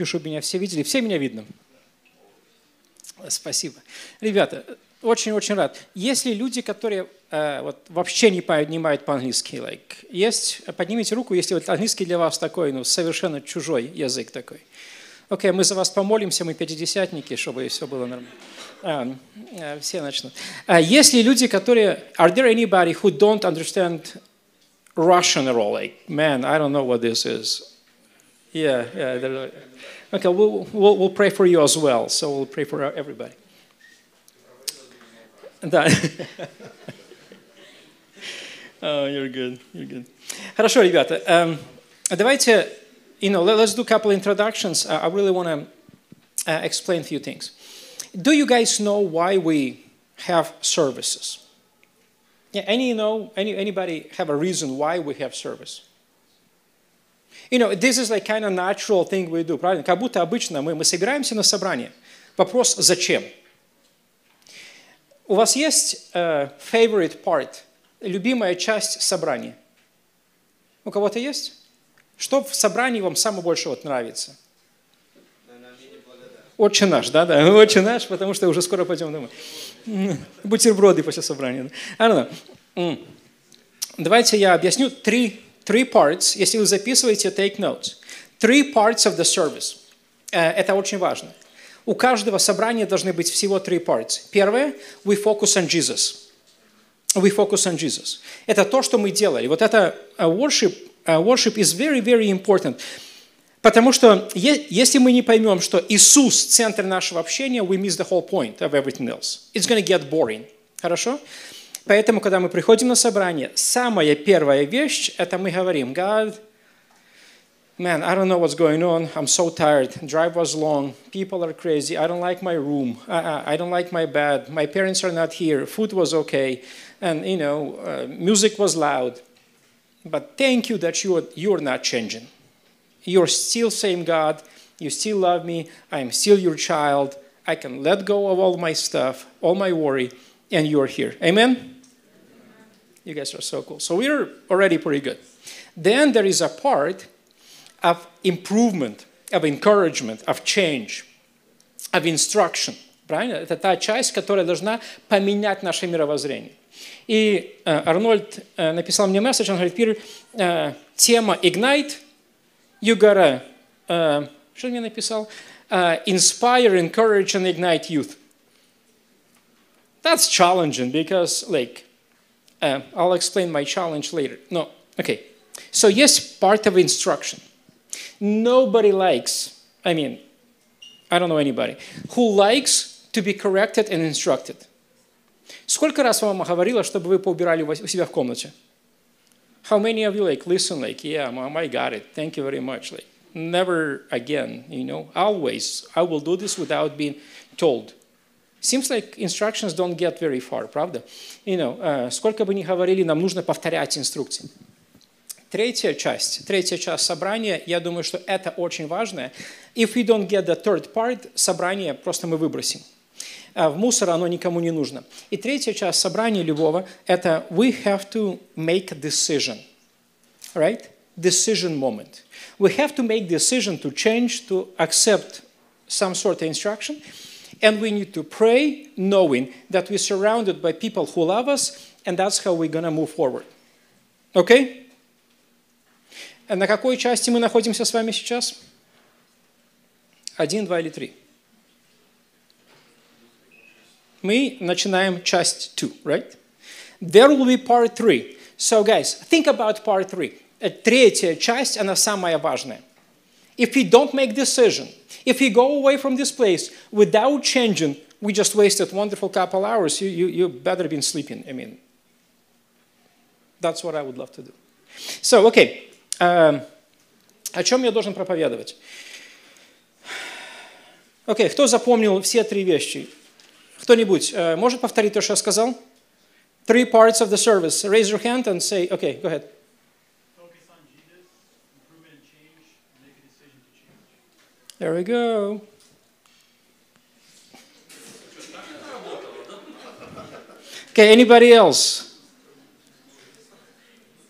чтобы меня все видели. Все меня видно? Спасибо. Ребята, очень-очень рад. Есть ли люди, которые вот, вообще не понимают по-английски? Поднимите руку, если вот английский для вас такой, совершенно чужой язык такой. Окей, мы за вас помолимся, мы пятидесятники, чтобы все было нормально. Все начнут. Есть ли люди, которые... Are there anybody who don't understand Russian at all? Like, man, I don't know what this is. Yeah. Okay, we'll pray for you as well. So we'll pray for everybody. Да. Oh, you're good. Хорошо, ребята. Давайте, let's do a couple introductions. I really want to explain a few things. Do you guys know why we have services? Yeah, anybody have a reason why we have service? This is like kind of natural thing we do, правильно? Как будто обычно мы собираемся на собрание. Вопрос, зачем? У вас есть favorite part, любимая часть собрания? У кого-то есть? Что в собрании вам самое больше нравится? Отче наш, да? Отче наш, потому что уже скоро пойдем домой. Бутерброды после собрания. I don't know. Давайте я объясню Three parts, если вы записываете, take notes. 3 parts of the service. Это очень важно. У каждого собрания должны быть всего 3 parts. Первое, we focus on Jesus. We focus on Jesus. Это то, что мы делали. Вот это worship is very, very important. Потому что если мы не поймем, что Иисус – центр нашего общения, we miss the whole point of everything else. It's going to get boring. Хорошо? Поэтому, когда мы приходим на собрание, самая первая вещь, это мы говорим, God, man, I don't know what's going on, I'm so tired, drive was long, people are crazy, I don't like my room, I don't like my bed, my parents are not here, food was okay, and music was loud. But thank you that you're not changing. You're still same God, you still love me, I'm still your child, I can let go of all my stuff, all my worry, and you're here. Amen? You guys are so cool. So we're already pretty good. Then there is a part of improvement, of encouragement, of change, of instruction. Правильно? Это та часть, которая должна поменять наше мировоззрение. И Арнольд написал мне месседж, он говорит, Пир, тема Ignite, you gotta, что он мне написал? Inspire, encourage, and ignite youth. That's challenging because, I'll explain my challenge later. No, okay. So yes, part of instruction. Nobody likes, I don't know anybody, who likes to be corrected and instructed. Сколько раз мама говорила, чтобы вы поубирали у себя в комнате? How many of you listen, yeah, Mom, I got it. Thank you very much. Never again, always. I will do this without being told. Seems like instructions don't get very far, правда? Сколько бы ни говорили, нам нужно повторять инструкции. Третья часть собрания, я думаю, что это очень важно. If we don't get the third part, собрание просто мы выбросим. В мусор оно никому не нужно. И третья часть собрания любого, это we have to make a decision. Right? Decision moment. We have to make decision to change, to accept some sort of instruction. And we need to pray knowing that we're surrounded by people who love us, and that's how we're going to move forward. Okay? На какой части мы находимся с вами сейчас? 1, 2 или 3? Мы начинаем часть 2, right? There will be part 3. So, guys, think about part 3. Третья часть, она самая важная. If we don't make decision, if we go away from this place without changing, we just wasted wonderful couple hours. You better been sleeping. That's what I would love to do. So, okay. О чем я должен проповедовать? Окей, кто запомнил все 3 вещи? Кто-нибудь может повторить то, что я сказал? 3 parts of the service. Raise your hand and say, okay, go ahead. Focus on Jesus, improvement and change, make a decision to change. There we go. Okay, anybody else?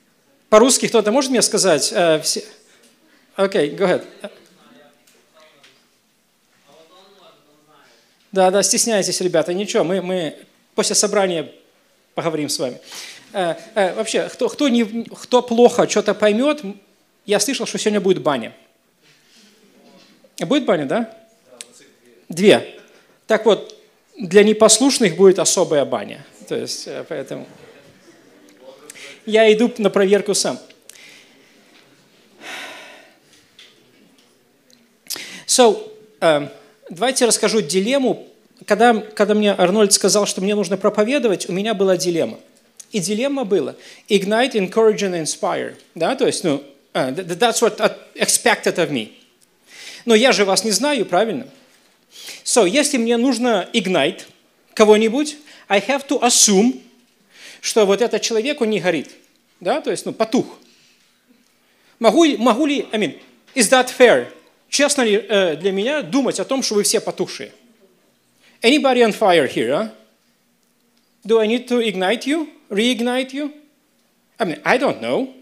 По-русски кто-то может мне сказать? Okay, go ahead. Да, стесняйтесь, ребята, ничего, мы после собрания поговорим с вами. Вообще, кто плохо что-то поймет, я слышал, что сегодня будет баня. Будет баня, да? 2. Так вот, для непослушных будет особая баня. То есть, поэтому я иду на проверку сам. Давайте расскажу дилемму. Когда мне Арнольд сказал, что мне нужно проповедовать, у меня была дилемма. И дилемма была ignite, encourage and inspire. Да? То есть, that's what expected of me. Но я же вас не знаю, правильно? Если мне нужно ignite кого-нибудь, I have to assume, что вот этот человек, он не горит. Да? То есть, потух. Могу ли, is that fair? Честно ли для меня думать о том, что вы все потухшие? Anybody on fire here, huh? Do I need to ignite you? Reignite you? I don't know.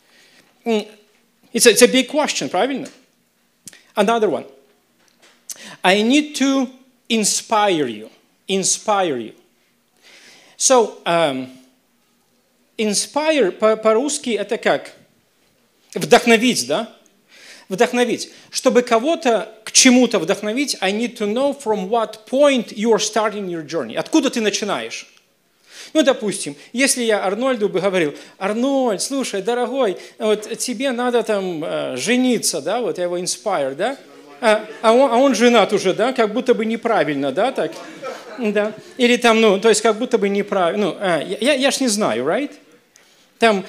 It's a big question, правильно? Another one. I need to inspire you. Inspire you. Inspire по-русски это как? Вдохновить, да? Вдохновить. Чтобы кого-то к чему-то вдохновить, I need to know from what point you are starting your journey. Откуда ты начинаешь? Допустим, если я Арнольду бы говорил, Арнольд, слушай, дорогой, вот тебе надо там жениться, да, вот я его inspire, да? А он женат уже, да, как будто бы неправильно, да, так? Да. Или там, то есть как будто бы неправильно. Я ж не знаю, right? Там,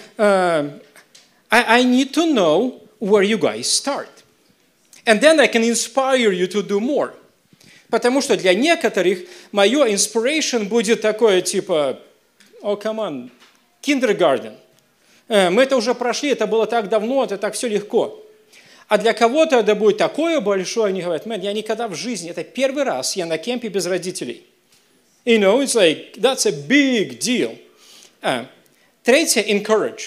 I need to know where you guys start. And then I can inspire you to do more. Потому что для некоторых мое inspiration будет такое, типа, come on, kindergarten. Мы это уже прошли, это было так давно, это так все легко. А для кого-то это будет такое большое, они говорят, я никогда в жизни, это первый раз я на кемпе без родителей. It's like, that's a big deal. Третье, encourage.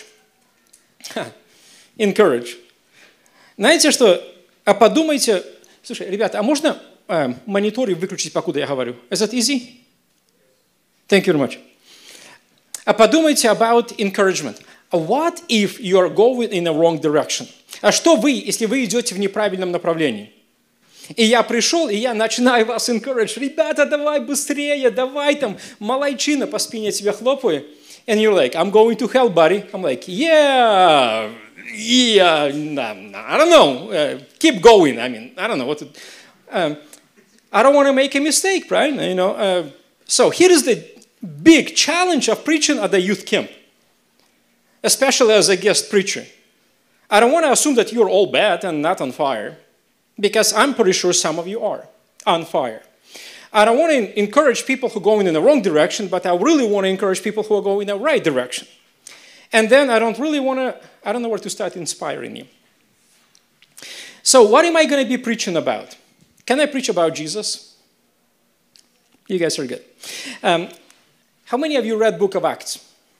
Encourage. Знаете что? Подумайте, слушай, ребята, а можно мониторы выключить, покуда я говорю? Is that easy? Thank you very much. Подумайте about encouragement. What if you are going in the wrong direction? А что вы, если вы идете в неправильном направлении? И я пришел, и я начинаю вас encourage. Ребята, давай быстрее, давай там, молодчина, по спине тебя хлопаю. And you're like, I'm going to hell, buddy. I'm like, yeah, I don't know. Keep going. I don't know what to... I don't want to make a mistake, right? So here is the big challenge of preaching at the youth camp, especially as a guest preacher. I don't want to assume that you're all bad and not on fire, because I'm pretty sure some of you are on fire. I don't want to encourage people who are going in the wrong direction, but I really want to encourage people who are going in the right direction. And then I don't know where to start inspiring you. So what am I going to be preaching about? Can I preach about Jesus? You guys are good. How many of you read Book of Acts?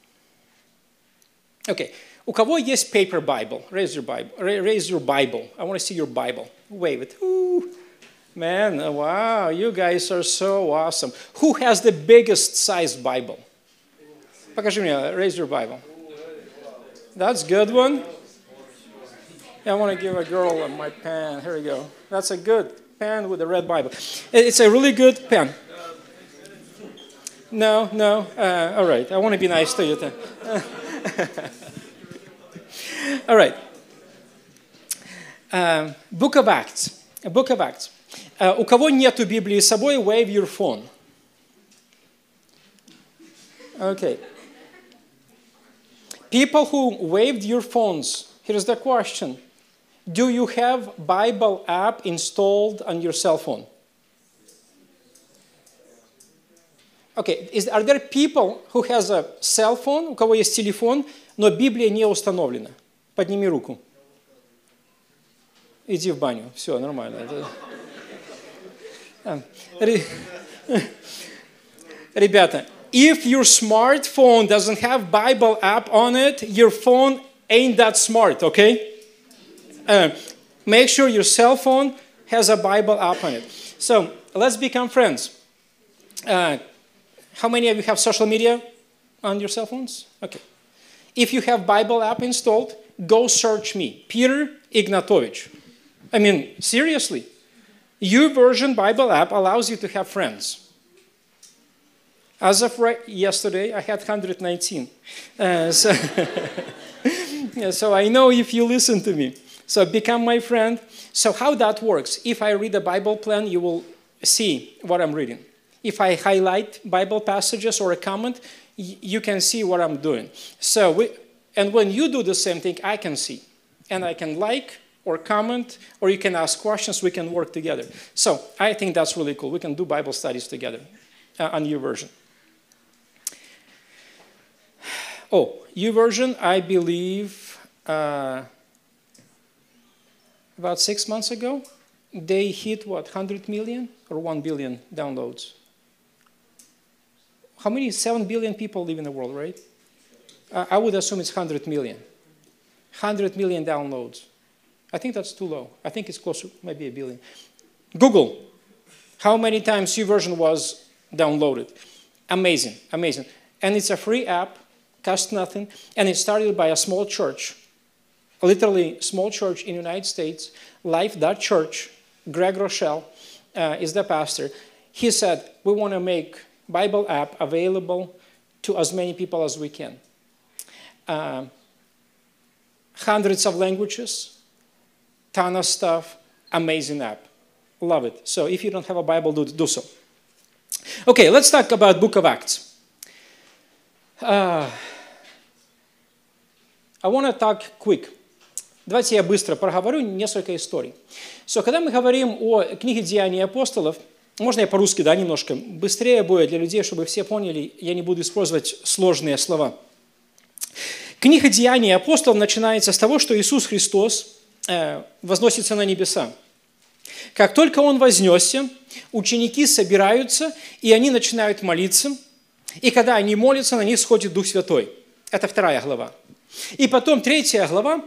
Okay. У кого есть paper Bible? Raise your Bible. Raise your Bible. I want to see your Bible. Wave it. Ooh. Man, wow, you guys are so awesome. Who has the biggest sized Bible? Покажи мне. Raise your Bible. That's a good one. I want to give a girl my pen. Here we go. That's a good pen with a red Bible. It's a really good pen. No. All right. I want to be nice to you. All right. Book of Acts. Book of Acts. У кого нету Библии с собой, wave your phone. Okay. People who waved your phones, here's the question. Do you have Bible app installed on your cell phone? Okay. Are there people who has a cell phone, у кого есть телефон, но Библия не установлена? Подними руку. Иди в баню. Все, нормально. Ребята, if your smartphone doesn't have Bible app on it, your phone ain't that smart, okay? Make sure your cell phone has a Bible app on it. So, let's become friends. How many of you have social media on your cell phones? Okay. If you have Bible app installed, go search me, Peter Ignatovich. I mean, seriously. YouVersion Bible app allows you to have friends. As of yesterday, I had 119. So I know if you listen to me. So become my friend. So how that works, if I read a Bible plan, you will see what I'm reading. If I highlight Bible passages or a comment, you can see what I'm doing. And when you do the same thing, I can see. And I can like or comment, or you can ask questions, we can work together. So I think that's really cool. We can do Bible studies together on YouVersion. Oh, YouVersion, I believe, about 6 months ago, they hit, 100 million or 1 billion downloads? How many? 7 billion people live in the world, right? I would assume it's 100 million. 100 million downloads. I think that's too low. I think it's closer, maybe 1 billion. Google, how many times YouVersion was downloaded? Amazing, amazing. And it's a free app, costs nothing, and it started by a small church, literally small church in the United States, Life.Church. Greg Rochelle is the pastor. He said, we want to make Bible app available to as many people as we can. Hundreds of languages, ton of stuff, amazing app. Love it. So if you don't have a Bible, do so. Okay, let's talk about Book of Acts. I want to talk quick. Давайте я быстро проговорю несколько историй. Когда мы говорим о книге «Деяний апостолов», можно я по-русски, да, немножко быстрее будет для людей, чтобы все поняли, я не буду использовать сложные слова. Книга «Деяний апостолов» начинается с того, что Иисус Христос возносится на небеса. Как только Он вознесся, ученики собираются, и они начинают молиться, и когда они молятся, на них сходит Дух Святой. Это 2 глава. И потом 3 глава,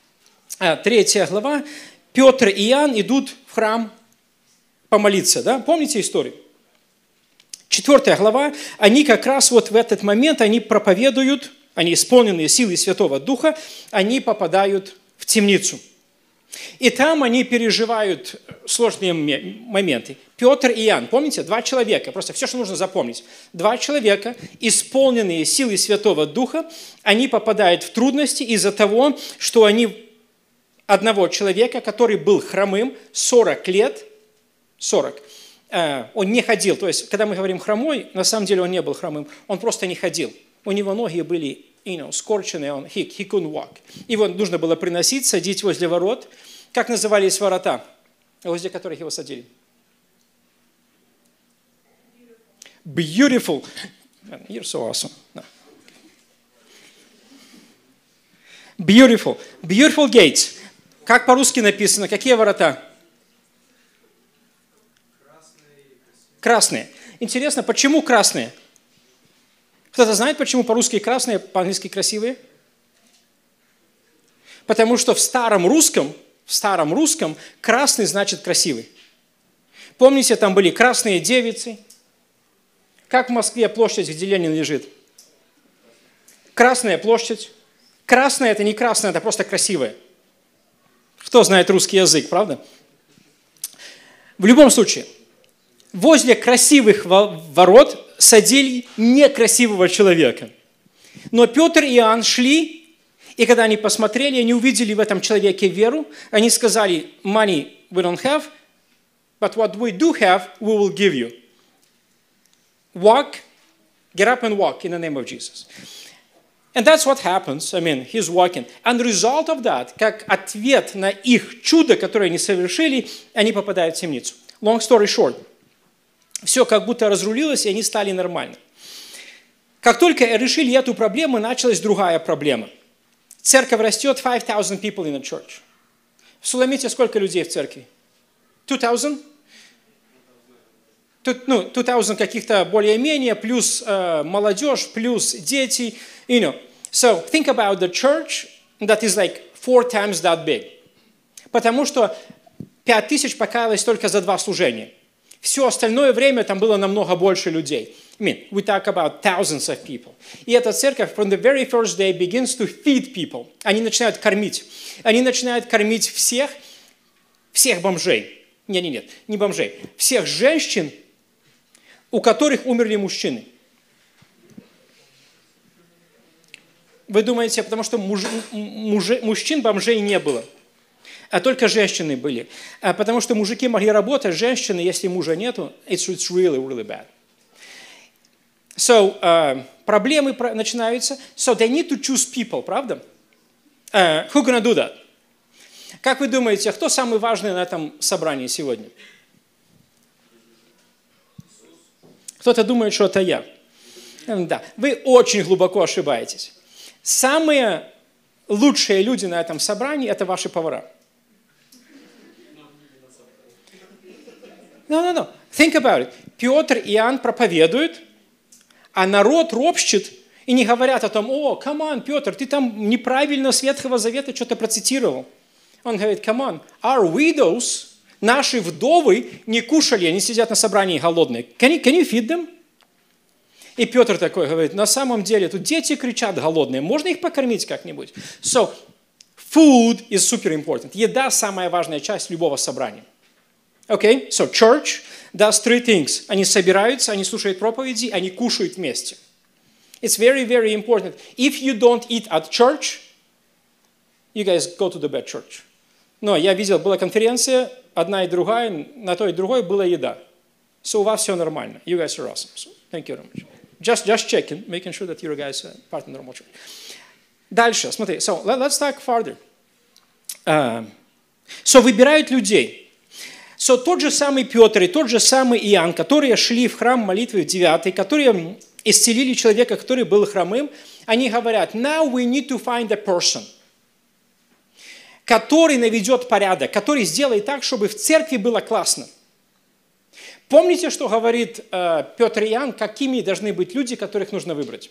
Петр и Иоанн идут в храм помолиться. Да? Помните историю? 4 глава, они как раз вот в этот момент, они проповедуют, они исполненные силой Святого Духа, они попадают в темницу. И там они переживают сложные моменты. Петр и Иоанн, помните, 2 человека, просто все, что нужно запомнить. 2 человека, исполненные силой Святого Духа, они попадают в трудности из-за того, что они одного человека, который был хромым 40 лет, 40, он не ходил. То есть, когда мы говорим хромой, на самом деле он не был хромым, он просто не ходил. У него ноги были скорченные, he couldn't walk. Его нужно было приносить, садить возле ворот. Как назывались ворота, возле которых его садили? Beautiful. You're so awesome. No. Beautiful. Beautiful gates. Как по-русски написано? Какие ворота? Красные. Интересно, почему красные? Кто-то знает, почему по-русски красные, по-английски красивые? Потому что в старом русском красный значит красивый. Помните, там были красные девицы? Как в Москве площадь, где Ленин лежит? Красная площадь. Красная – это не красная, это просто красивая. Кто знает русский язык, правда? В любом случае, возле красивых ворот садили некрасивого человека. Но Петр и Иоанн шли, и когда они посмотрели, они увидели в этом человеке веру, они сказали, money we don't have, but what we do have, we will give you. Walk, get up and walk in the name of Jesus. And that's what happens. I mean, he's walking. And the result of that, как ответ на их чудо, которое они совершили, они попадают в темницу. Long story short. Все как будто разрулилось, и они стали нормально. Как только решили эту проблему, началась другая проблема. Церковь растет, 5,000 people in a church. В Суламите сколько людей в церкви? 2,000? 2,000 каких-то более-менее, плюс молодежь, плюс дети. You know. So think about the church that is like 4 times that big. Потому что 5,000 покаялось только за 2 служения. Все остальное время там было намного больше людей. I mean, we talk about thousands of people. И эта церковь from the very first day begins to feed people. Они начинают кормить. Они начинают кормить всех бомжей. Нет, не бомжей. Всех женщин, у которых умерли мужчины. Вы думаете, потому что мужчин бомжей не было, а только женщины были. Потому что мужики могли работать, женщины, если мужа нету, it's really, really bad. So, проблемы начинаются. So, they need to choose people, правда? Who gonna do that? Как вы думаете, кто самый важный на этом собрании сегодня? Кто-то думает, что это я. Да, вы очень глубоко ошибаетесь. Самые лучшие люди на этом собрании – это ваши повара. No. Think about it. Петр и Иоанн проповедуют, а народ ропщет и не говорят о том, о, come on, Петр, ты там неправильно с Ветхого Завета что-то процитировал. Он говорит, come on, our widows, наши вдовы не кушали, они сидят на собрании голодные. Can you feed them? И Петр такой говорит, на самом деле тут дети кричат голодные, можно их покормить как-нибудь? So, food is super important. Еда – самая важная часть любого собрания. Okay? So, church does three things. Они собираются, они слушают проповеди, они кушают вместе. It's very, very important. If you don't eat at church, you guys go to the bad church. Но я видел, была конференция, одна и другая, на той и другой была еда. So, у вас все нормально. You guys are awesome. So, thank you very much. Just checking, making sure that you guys are part of the normal church. Дальше, смотри. So, let's talk further. So, выбирают людей. So, тот же самый Петр и тот же самый Иоанн, которые шли в храм молитвы в 9, которые исцелили человека, который был хромым, они говорят, now we need to find a person, который наведет порядок, который сделает так, чтобы в церкви было классно. Помните, что говорит Петр и Иоанн, какими должны быть люди, которых нужно выбрать?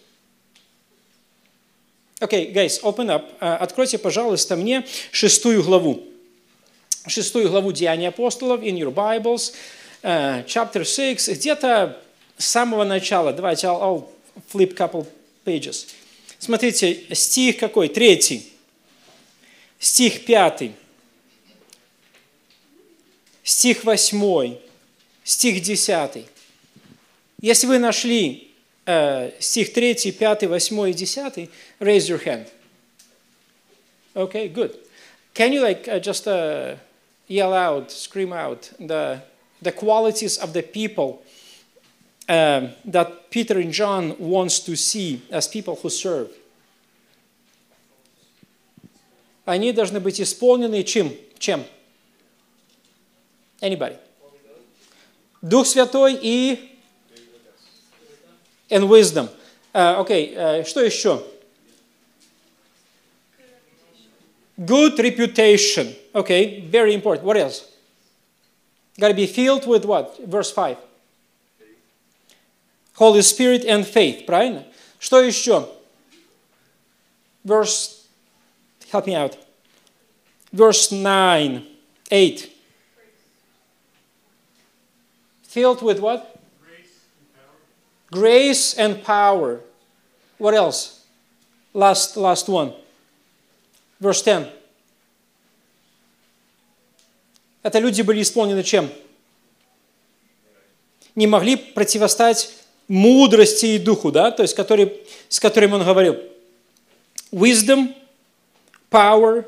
Okay, guys, open up. Откройте, пожалуйста, мне 6 главу. 6 главу Деяний апостолов, in your Bibles, chapter 6, где-то с самого начала. Давайте, I'll flip couple pages. Смотрите, стих какой? 3. Стих 5. Стих 8. Стих 10. Если вы нашли стих 3, 5, 8 и 10, raise your hand. Okay, good. Can you just yell out, scream out the qualities of the people that Peter and John wants to see as people who serve? Они должны быть исполнены чем? Anybody? Дух Святой и and wisdom. Okay, что еще? Good reputation. Okay, very important. What else? Got to be filled with what? Verse 5. Holy Spirit and faith. Правильно? Что еще? Verse, help me out. Verse 9, 8. Filled with what? Grace and power. What else? Last one. Verse 10. Это люди были исполнены чем? Не могли противостать мудрости и духу, да? То есть, с которым он говорил. Wisdom, power,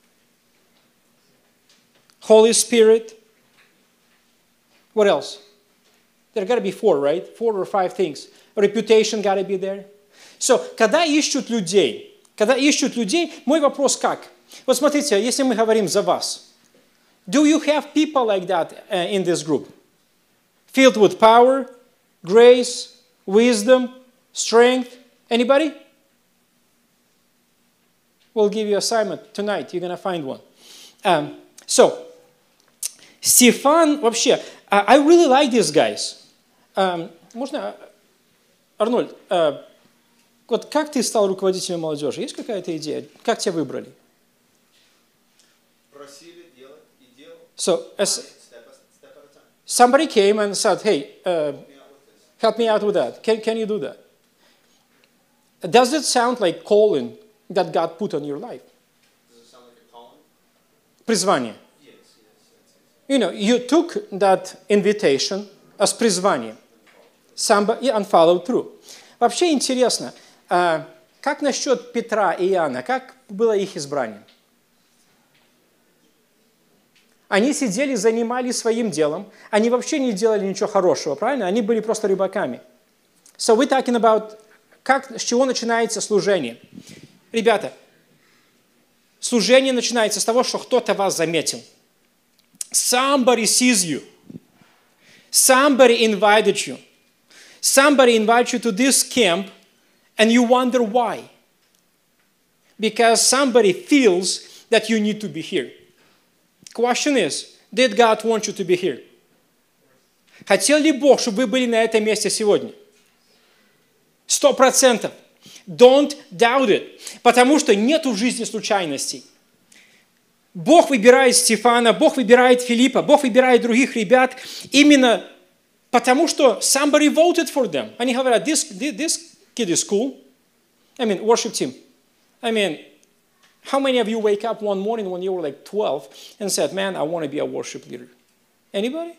Holy Spirit. What else? There got to be 4, right? 4 or 5 things. Reputation got to be there. So, когда ищут людей, мой вопрос как? Вот смотрите, если мы говорим за вас, do you have people like that in this group? Filled with power, grace, wisdom, strength? Anybody? We'll give you assignment tonight. You're going to find one. So, Стефан, вообще, I really like these guys. Можно, Арнольд, вот как ты стал руководителем молодежи? Есть какая-то идея? Как тебя выбрали? Просили делать и делал. So, Somebody came and said, hey, help me out with that. Can you do that? Does it sound like calling that God put on your life? Does it sound like a calling? Призвание. Yes. You know, you took that invitation as призвание. Somebody and followed through. Вообще интересно, как насчет Петра и Иоанна? Как было их избрание? Они сидели, занимались своим делом. Они вообще не делали ничего хорошего, правильно? Они были просто рыбаками. So we're talking about, с чего начинается служение. Ребята, служение начинается с того, что кто-то вас заметил. Somebody sees you. Somebody invited you. Somebody invites you to this camp, and you wonder why. Because somebody feels that you need to be here. Question is, did God want you to be here? Хотел ли Бог, чтобы вы были на этом месте сегодня? 100%. Don't doubt it. Потому что нет в жизни случайностей. Бог выбирает Стефана, Бог выбирает Филиппа, Бог выбирает других ребят именно потому что somebody voted for them. Они говорят, this kid is cool. I mean, worship team. I mean, how many of you wake up one morning when you were like 12 and said, man, I want to be a worship leader? Anybody?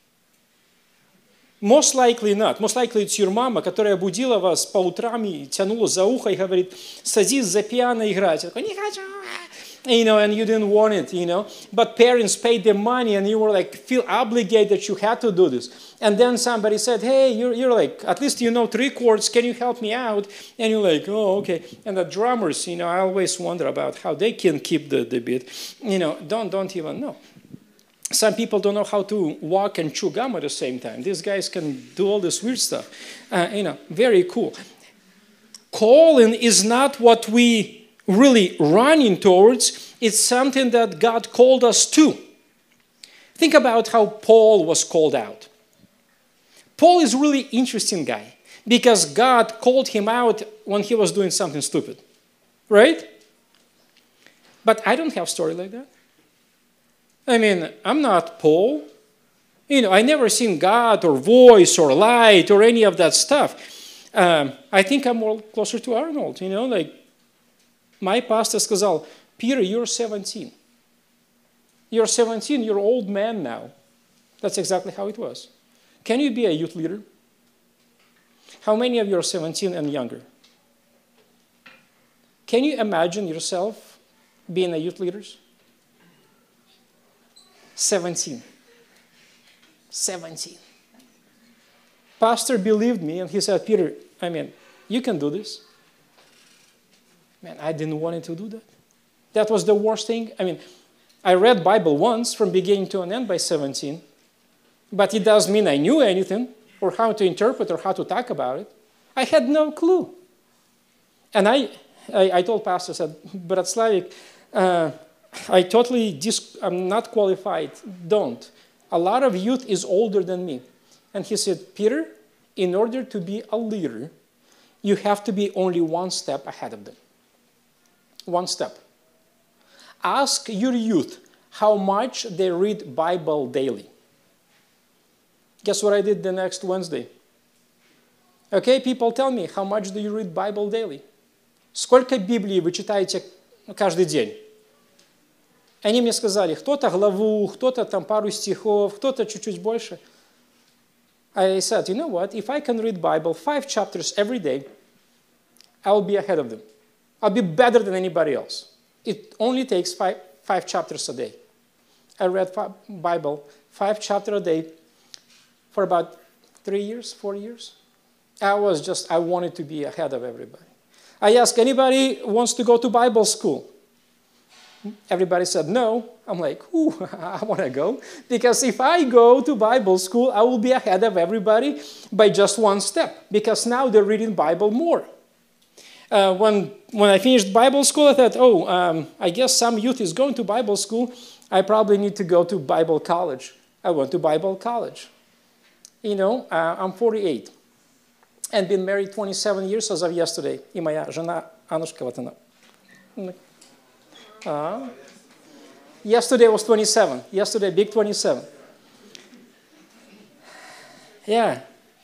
Most likely not. Most likely it's your mama, которая будила вас по утрам и тянула за ухо и говорит, садись за пиано играть. Я такой, не хочу. You know, and you didn't want it, you know. But parents paid the money and you were like, feel obligated that you had to do this. And then somebody said, hey, you're like, at least you know 3 chords, can you help me out? And you're like, oh, okay. And the drummers, you know, I always wonder about how they can keep the beat. You know, don't even know. Some people don't know how to walk and chew gum at the same time. These guys can do all this weird stuff. You know, very cool. Calling is not what we really running towards. It's something that God called us to. Think about how Paul was called out. Paul is a really interesting guy because God called him out when he was doing something stupid. Right? But I don't have a story like that. I mean, I'm not Paul. You know, I never seen God or voice or light or any of that stuff. I think I'm more closer to Arnold, you know, like my pastor сказал, Peter, you're 17. You're 17, you're an old man now. That's exactly how it was. Can you be a youth leader? How many of you are 17 and younger? Can you imagine yourself being a youth leader? 17. 17. Pastor believed me and he said, Peter, I mean, you can do this. Man, I didn't want to do that. That was the worst thing. I mean, I read Bible once from beginning to an end by 17, but it doesn't mean I knew anything or how to interpret or how to talk about it. I had no clue. And I told Pastor, I said, Brat Slavik, I'm not qualified. Don't. A lot of youth is older than me. And he said, Peter, in order to be a leader, you have to be only one step ahead of them. One step. Ask your youth how much they read Bible daily. Guess what I did the next Wednesday? Okay, people tell me, how much do you read Bible daily? Сколько Библии вы читаете каждый день? Они мне сказали, кто-то главу, кто-то там пару стихов, кто-то чуть-чуть больше. I said, you know what, if I can read Bible 5 chapters every day, I'll be ahead of them. I'll be better than anybody else. It only takes five chapters a day. I read Bible 5 chapters a day for about 3 years, 4 years. I wanted to be ahead of everybody. I asked, anybody wants to go to Bible school? Everybody said no. I'm like, ooh, I want to go. Because if I go to Bible school, I will be ahead of everybody by just one step. Because now they're reading Bible more. When I finished Bible school, I thought, I guess some youth is going to Bible school. I probably need to go to Bible college. I went to Bible college. You know, I'm 48 and been married 27 years as of yesterday. И моя жена Анушка, вот она. Yesterday was 27. Yesterday, big 27. Я...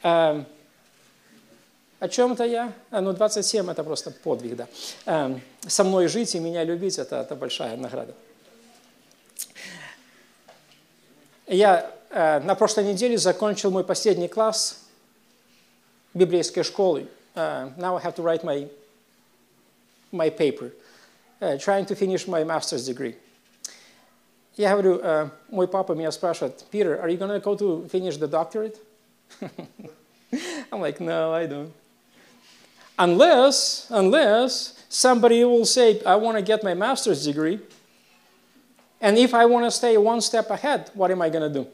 О чем-то я? 27 это просто подвиг, да. Со мной жить и меня любить это большая награда. Я на прошлой неделе закончил мой последний класс библейской школы. Now I have to write my paper, trying to finish my master's degree. Я говорю, мой папа меня спрашивает, Peter, are you going to go to finish the doctorate? I'm like, no, I don't. Unless somebody will say, I want to get my master's degree, and if I want to stay one step ahead, what am I going to do?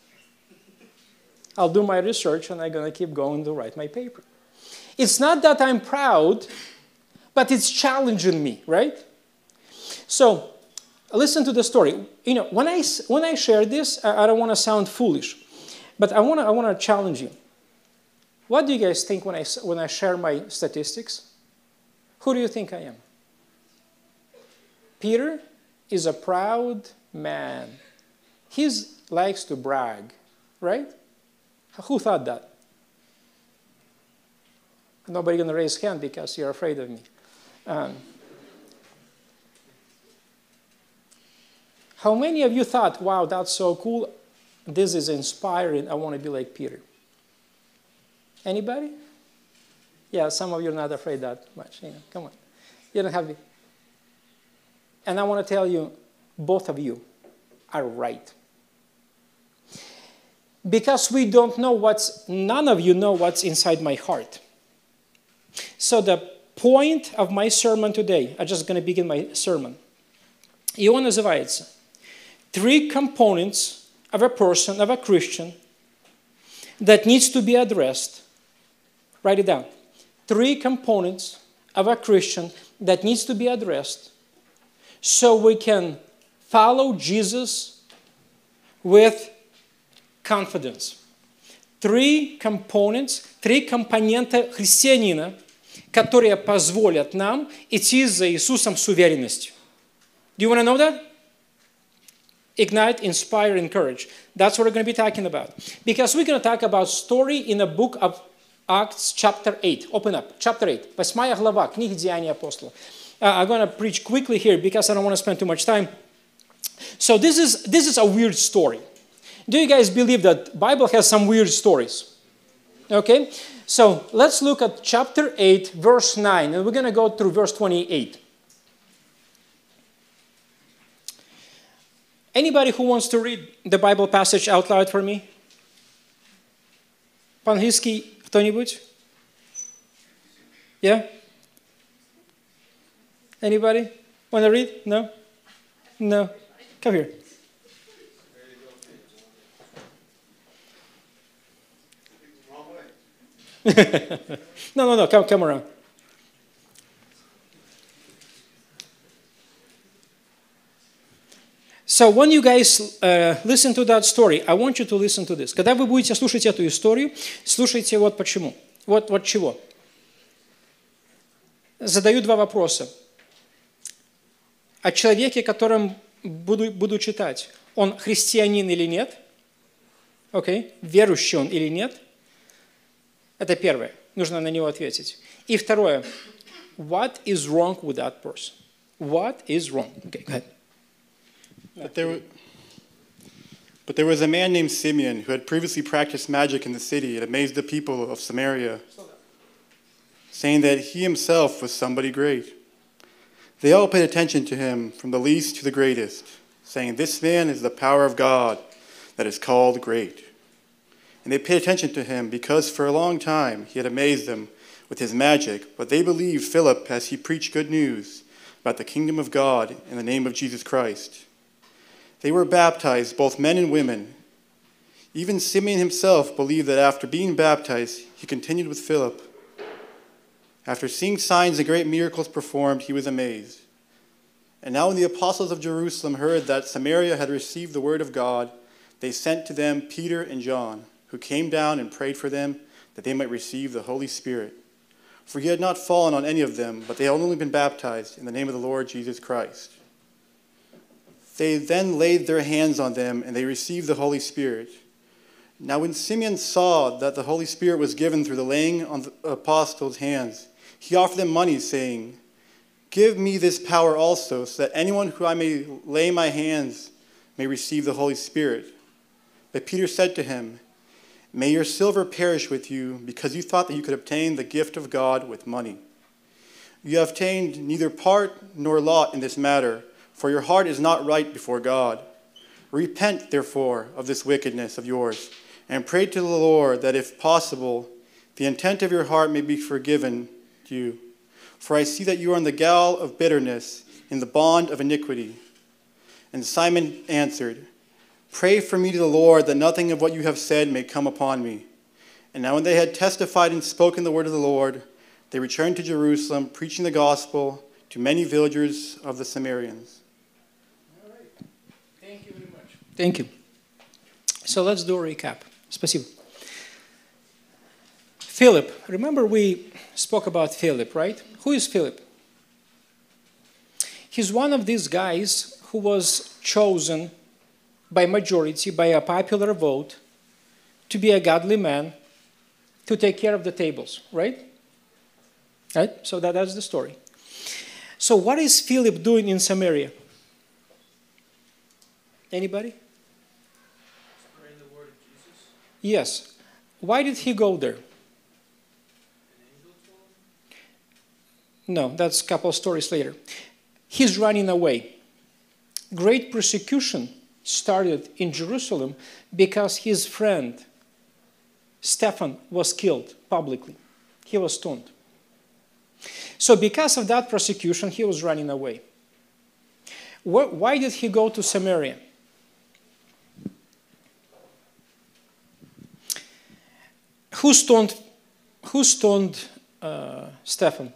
I'll do my research, and I'm going to keep going to write my paper. It's not that I'm proud, but it's challenging me, right? So, listen to the story. You know, when I share this, I don't want to sound foolish, but I want to challenge you. What do you guys think when I share my statistics? Who do you think I am? Peter is a proud man. He likes to brag, right? Who thought that? Nobody going to raise hand because you're afraid of me. How many of you thought, wow, that's so cool. This is inspiring. I want to be like Peter. Anybody? Yeah, some of you are not afraid that much. You know, come on. You don't have it. And I want to tell you, both of you are right. Because we don't know none of you know what's inside my heart. So the point of my sermon today, I'm just going to begin my sermon. Его называется «Three components of a person, of a Christian, that needs to be addressed». Write it down. 3 components of a Christian that needs to be addressed so we can follow Jesus with confidence. 3 components, 3 компонента христианина, которые позволят нам идти за Иисусом с уверенностью. Do you want to know that? Ignite, inspire, encourage. That's what we're going to be talking about. Because we're going to talk about story in the book of Acts chapter 8. Open up. Chapter 8. 8 глава книги Деяний апостолов. I'm going to preach quickly here because I don't want to spend too much time. So this is a weird story. Do you guys believe that Bible has some weird stories? Okay? So let's look at chapter 8, verse 9. And we're going to go through verse 28. Anybody who wants to read the Bible passage out loud for me? По-английски кто-нибудь? Yeah? Anybody? Want to read? No? No? Come here. No. Come around. So when you guys listen to that story, I want you to listen to this. Когда вы будете слушать эту историю, слушайте вот почему. Вот чего. Задаю 2 вопроса. О человеке, которым буду читать. Он христианин или нет? Okay. Верующий он или нет? Это первое. Нужно на него ответить. И второе. What is wrong with that person? What is wrong? Okay, go ahead. But there was a man named Simeon who had previously practiced magic in the city and amazed the people of Samaria, saying that he himself was somebody great. They all paid attention to him, from the least to the greatest, saying, "This man is the power of God that is called great." And they paid attention to him because for a long time he had amazed them with his magic, but they believed Philip as he preached good news about the kingdom of God in the name of Jesus Christ. They were baptized, both men and women. Even Simeon himself believed that after being baptized, he continued with Philip. After seeing signs and great miracles performed, he was amazed. And now when the apostles of Jerusalem heard that Samaria had received the word of God, they sent to them Peter and John, who came down and prayed for them that they might receive the Holy Spirit. For he had not fallen on any of them, but they had only been baptized in the name of the Lord Jesus Christ. They then laid their hands on them, and they received the Holy Spirit. Now when Simeon saw that the Holy Spirit was given through the laying on the apostles' hands, he offered them money, saying, "Give me this power also, so that anyone who I may lay my hands may receive the Holy Spirit." But Peter said to him, "May your silver perish with you, because you thought that you could obtain the gift of God with money. You have obtained neither part nor lot in this matter, for your heart is not right before God. Repent, therefore, of this wickedness of yours, and pray to the Lord that, if possible, the intent of your heart may be forgiven you. For I see that you are in the gall of bitterness, in the bond of iniquity." And Simon answered, "Pray for me to the Lord, that nothing of what you have said may come upon me." And now when they had testified and spoken the word of the Lord, they returned to Jerusalem, preaching the gospel to many villagers of the Samaritans. All right. Thank you very much. Thank you. So let's do a recap. Спасибо. Philip. Remember we spoke about Philip, right? Who is Philip? He's one of these guys who was chosen by majority, by a popular vote, to be a godly man, to take care of the tables, right? Right? So that's the story. So what is Philip doing in Samaria? Anybody? Spreading the word of Jesus. Yes. Why did he go there? An angel told him. No, that's a couple of stories later. He's running away. Great persecution started in Jerusalem because his friend Stephen was killed publicly. He was stoned. So because of that persecution, he was running away. Why did he go to Samaria? Who stoned Stephen?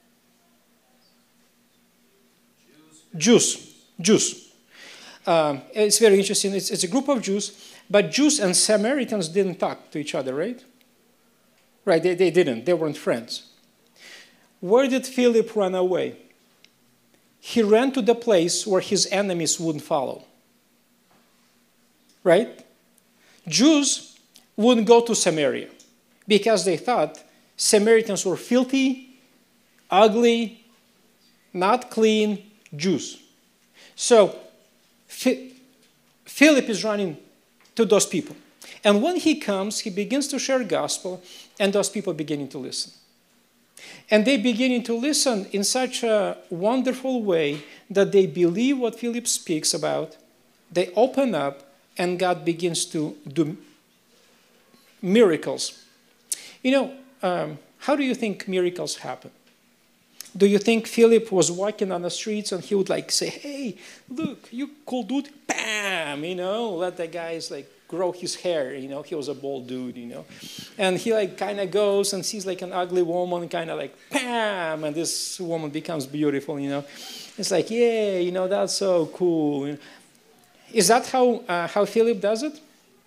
Jews. It's very interesting. It's a group of Jews, but Jews and Samaritans didn't talk to each other, right? Right, they didn't. They weren't friends. Where did Philip run away? He ran to the place where his enemies wouldn't follow. Right? Jews wouldn't go to Samaria because they thought Samaritans were filthy, ugly, not clean Jews. So Philip is running to those people. And when he comes, he begins to share gospel, and those people beginning to listen. And they beginning to listen in such a wonderful way that they believe what Philip speaks about. They open up, and God begins to do miracles. You know, how do you think miracles happen? Do you think Philip was walking on the streets and he would like say, "Hey, look, you cool dude," bam, you know, let the guys like grow his hair, you know, he was a bald dude, you know. And he like kind of goes and sees like an ugly woman, kind of like, bam, and this woman becomes beautiful, you know. It's like, yeah, you know, that's so cool. Is that how Philip does it?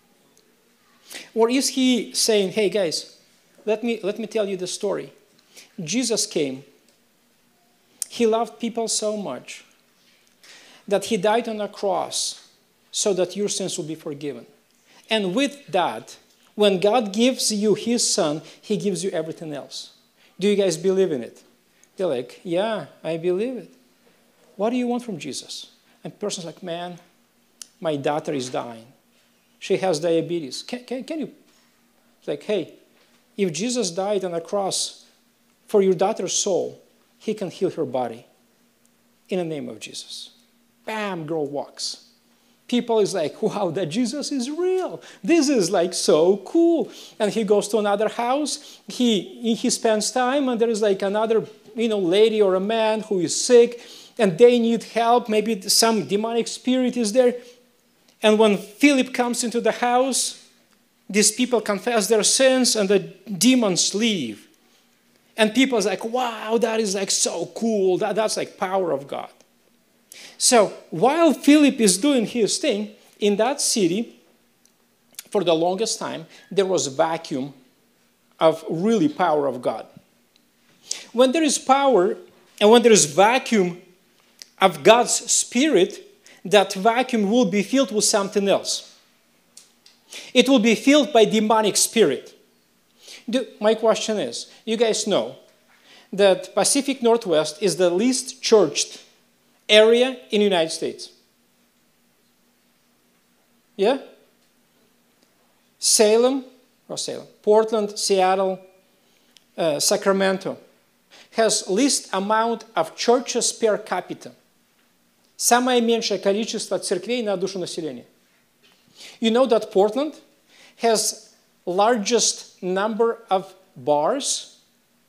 Or is he saying, "Hey guys, let me tell you the story. Jesus came. He loved people so much that he died on a cross so that your sins will be forgiven. And with that, when God gives you his son, he gives you everything else." Do you guys believe in it? They're like, "Yeah, I believe it." What do you want from Jesus? And the person's like, "Man, my daughter is dying. She has diabetes. Can you?" It's like, "Hey, if Jesus died on a cross for your daughter's soul, he can heal her body in the name of Jesus." Bam, girl walks. People is like, "Wow, that Jesus is real. This is like so cool." And he goes to another house. He spends time, and there is like another, you know, lady or a man who is sick, and they need help. Maybe some demonic spirit is there. And when Philip comes into the house, these people confess their sins, and the demons leave. And people are like, "Wow, that is like so cool. That's like power of God." So while Philip is doing his thing in that city, for the longest time, there was a vacuum of really power of God. When there is power and when there is vacuum of God's Spirit, that vacuum will be filled with something else. It will be filled by demonic spirit. My question is, you guys know that Pacific Northwest is the least churched area in the United States? Yeah? Portland, Seattle, Sacramento has least amount of churches per capita. Самое меньшее количество церквей на душу населения. You know that Portland has largest number of bars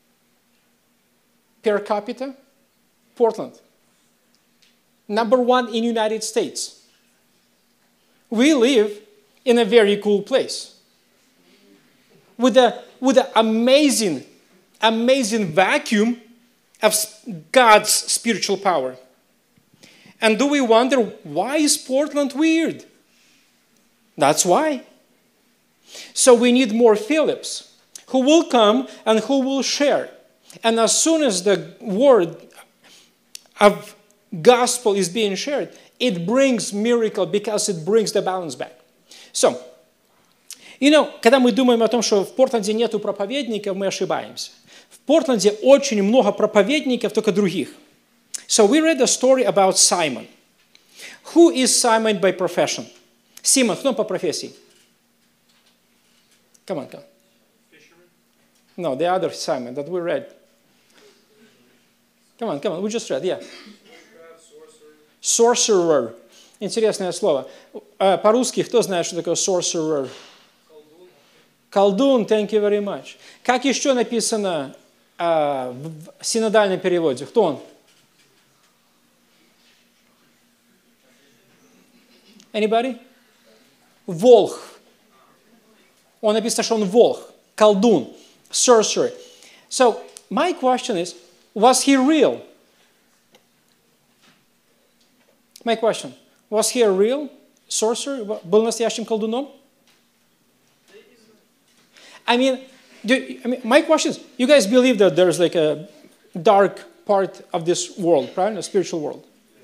per capita? Portland. Number 1 in United States. We live in a very cool place with an amazing vacuum of God's spiritual power. And do we wonder, why is Portland weird? That's why. So we need more Philips who will come and who will share. And as soon as the word of gospel is being shared, it brings miracle because it brings the balance back. So, когда мы думаем о том, что в Портленде нету проповедников, мы ошибаемся. В Портленде очень много проповедников, только других. So we read a story about Simon. Who is Simon by profession? Симон, кто он по профессии? Come on. Fisherman? No, the other Simon that we read. Come on, we just read, yeah. Sorcerer. Интересное слово. По-русски, кто знает, что такое sorcerer? Колдун, thank you very much. Как еще написано в синодальном переводе? Кто он? Anybody? Волх. Он написано, что он волх. Колдун. Sorcerer. So, my question is, was he real? My question. Was he a real sorcerer? Был настоящим колдуном? My question is, you guys believe that there's like a dark part of this world, right? A spiritual world.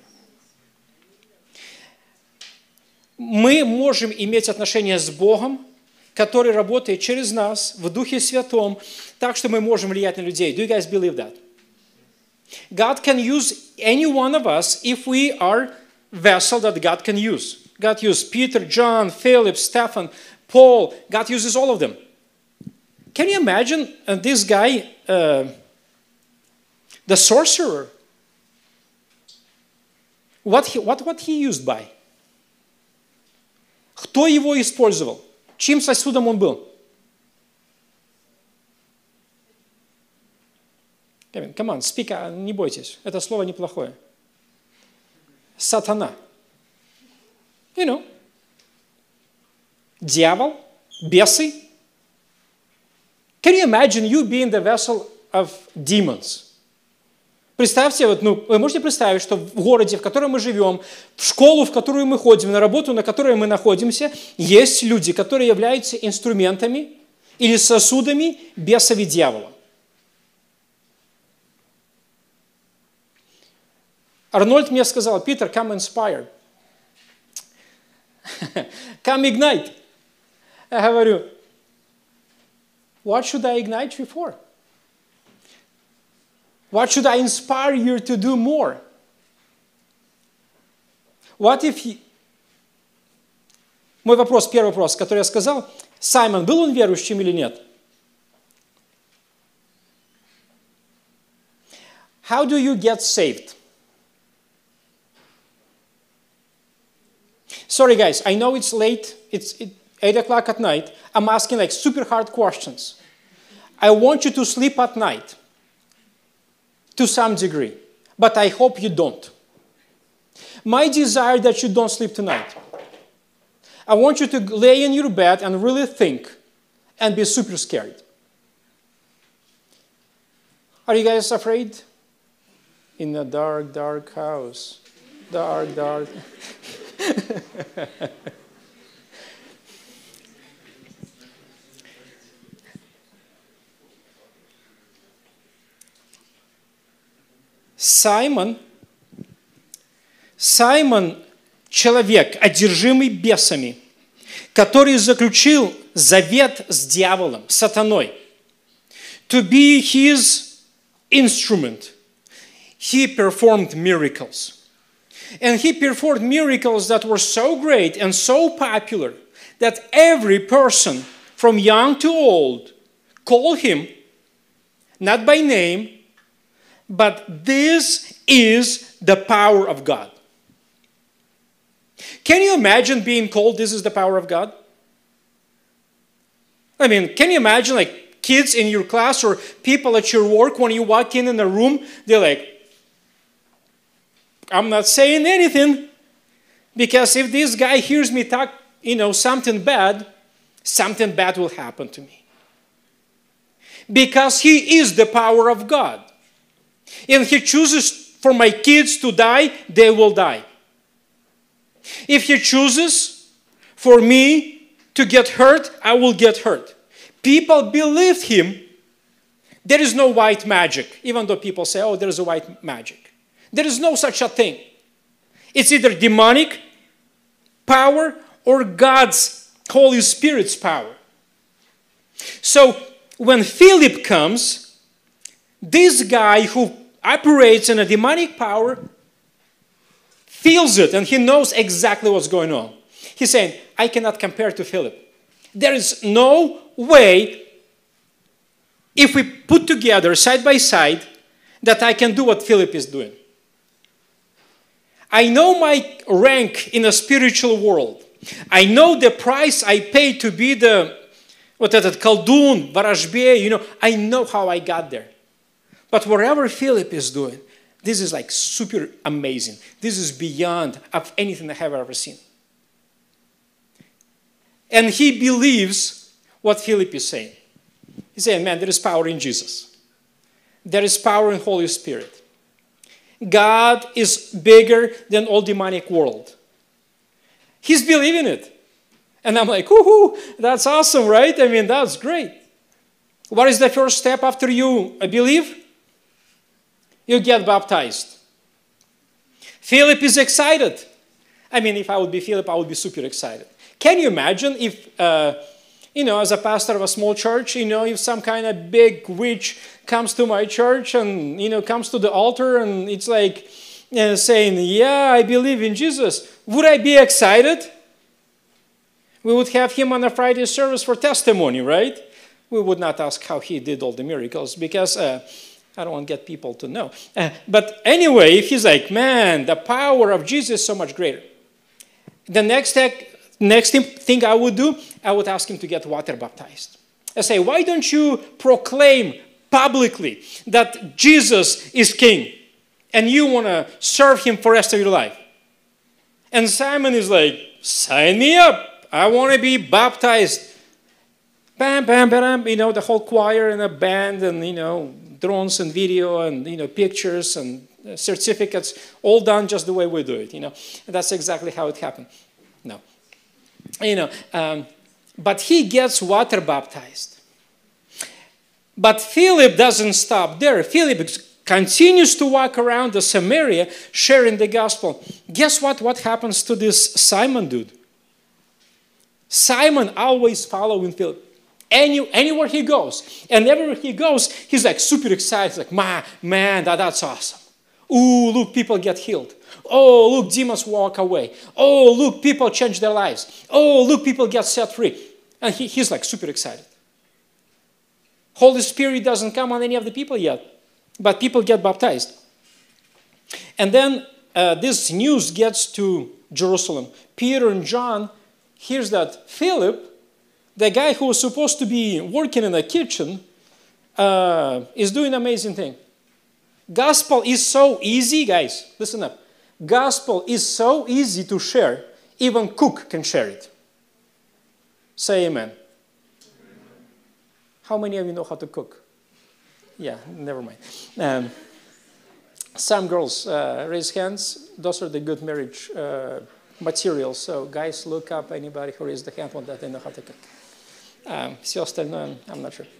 Мы можем иметь отношения с Богом, который работает через нас в Духе Святом, так что мы можем влиять на людей. Do you guys believe that? God can use any one of us if we are vessel that God can use. God used Peter, John, Philip, Stephen, Paul. God uses all of them. Can you imagine this guy, the sorcerer? What he used by? Кто его использовал? Чьим сосудом он был? Come on, speak, не бойтесь. Это слово неплохое. Сатана. Дьявол, бесы. Can you imagine you being the vessel of demons? Представьте, вы можете представить, что в городе, в котором мы живем, в школу, в которую мы ходим, на работу, на которой мы находимся, есть люди, которые являются инструментами или сосудами бесов и дьявола. Арнольд мне сказал, Peter, come inspire. Come ignite. Я говорю, what should I ignite you for? What should I inspire you to do more? What if Мой вопрос, первый вопрос, который я сказал, Саймон, был он верующим или нет? How do you get saved? Sorry guys, I know it's late, it's 8 o'clock at night. I'm asking like super hard questions. I want you to sleep at night to some degree, but I hope you don't. My desire that you don't sleep tonight. I want you to lay in your bed and really think and be super scared. Are you guys afraid? In a dark, dark house. Dark, dark. Саймон, человек, одержимый бесами, который заключил завет с дьяволом, сатаной, to be his instrument. He performed miracles. And he performed miracles that were so great and so popular that every person, from young to old, called him, not by name, but this is the power of God. Can you imagine being called, this is the power of God? I mean, can you imagine like kids in your class or people at your work, when you walk in a room, they're like, I'm not saying anything, because if this guy hears me talk, something bad will happen to me. Because he is the power of God. If he chooses for my kids to die, they will die. If he chooses for me to get hurt, I will get hurt. People believed him. There is no white magic, even though people say, oh, there is a white magic. There is no such a thing. It's either demonic power or God's Holy Spirit's power. So when Philip comes, this guy who operates in a demonic power feels it, and he knows exactly what's going on. He's saying, I cannot compare to Philip. There is no way, if we put together side by side, that I can do what Philip is doing. I know my rank in the spiritual world. I know the price I paid to be the колдун, ворожбей, I know how I got there. But whatever Philip is doing, this is like super amazing. This is beyond of anything I have ever seen. And he believes what Philip is saying. He's saying, man, there is power in Jesus. There is power in Holy Spirit. God is bigger than all demonic world. He's believing it. And I'm like, woohoo, that's awesome, right? I mean, that's great. What is the first step after you believe? You get baptized. Philip is excited. I mean, if I would be Philip, I would be super excited. Can you imagine if, as a pastor of a small church, if some kind of big witch comes to my church and, comes to the altar and it's like saying, yeah, I believe in Jesus. Would I be excited? We would have him on a Friday service for testimony, right? We would not ask how he did all the miracles because I don't want to get people to know. But anyway, if he's like, man, the power of Jesus is so much greater. The next thing I would do, I would ask him to get water baptized. I say, why don't you proclaim publicly that Jesus is king and you want to serve him for the rest of your life? And Simon is like, sign me up. I want to be baptized. Bam, bam, bam, the whole choir and a band and, drones and video and, pictures and certificates, all done just the way we do it, And that's exactly how it happened. No. But he gets water baptized. But Philip doesn't stop there. Philip continues to walk around the Samaria sharing the gospel. Guess what? What happens to this Simon dude? Simon always following Philip. Anywhere he goes. And everywhere he goes, he's like super excited. He's like, man, that's awesome. Ooh, look, people get healed. Oh, look, demons walk away. Oh, look, people change their lives. Oh, look, people get set free. And he's like super excited. Holy Spirit doesn't come on any of the people yet, but people get baptized. And then this news gets to Jerusalem. Peter and John hears that Philip, the guy who was supposed to be working in the kitchen, is doing an amazing thing. Gospel is so easy, guys. Listen up. Gospel is so easy to share, even cook can share it. Say amen. How many of you know how to cook? Yeah, never mind. Some girls raise hands. Those are the good marriage materials. So guys, look up anybody who raised the hand on that they know how to cook. Все остальное, I'm not sure.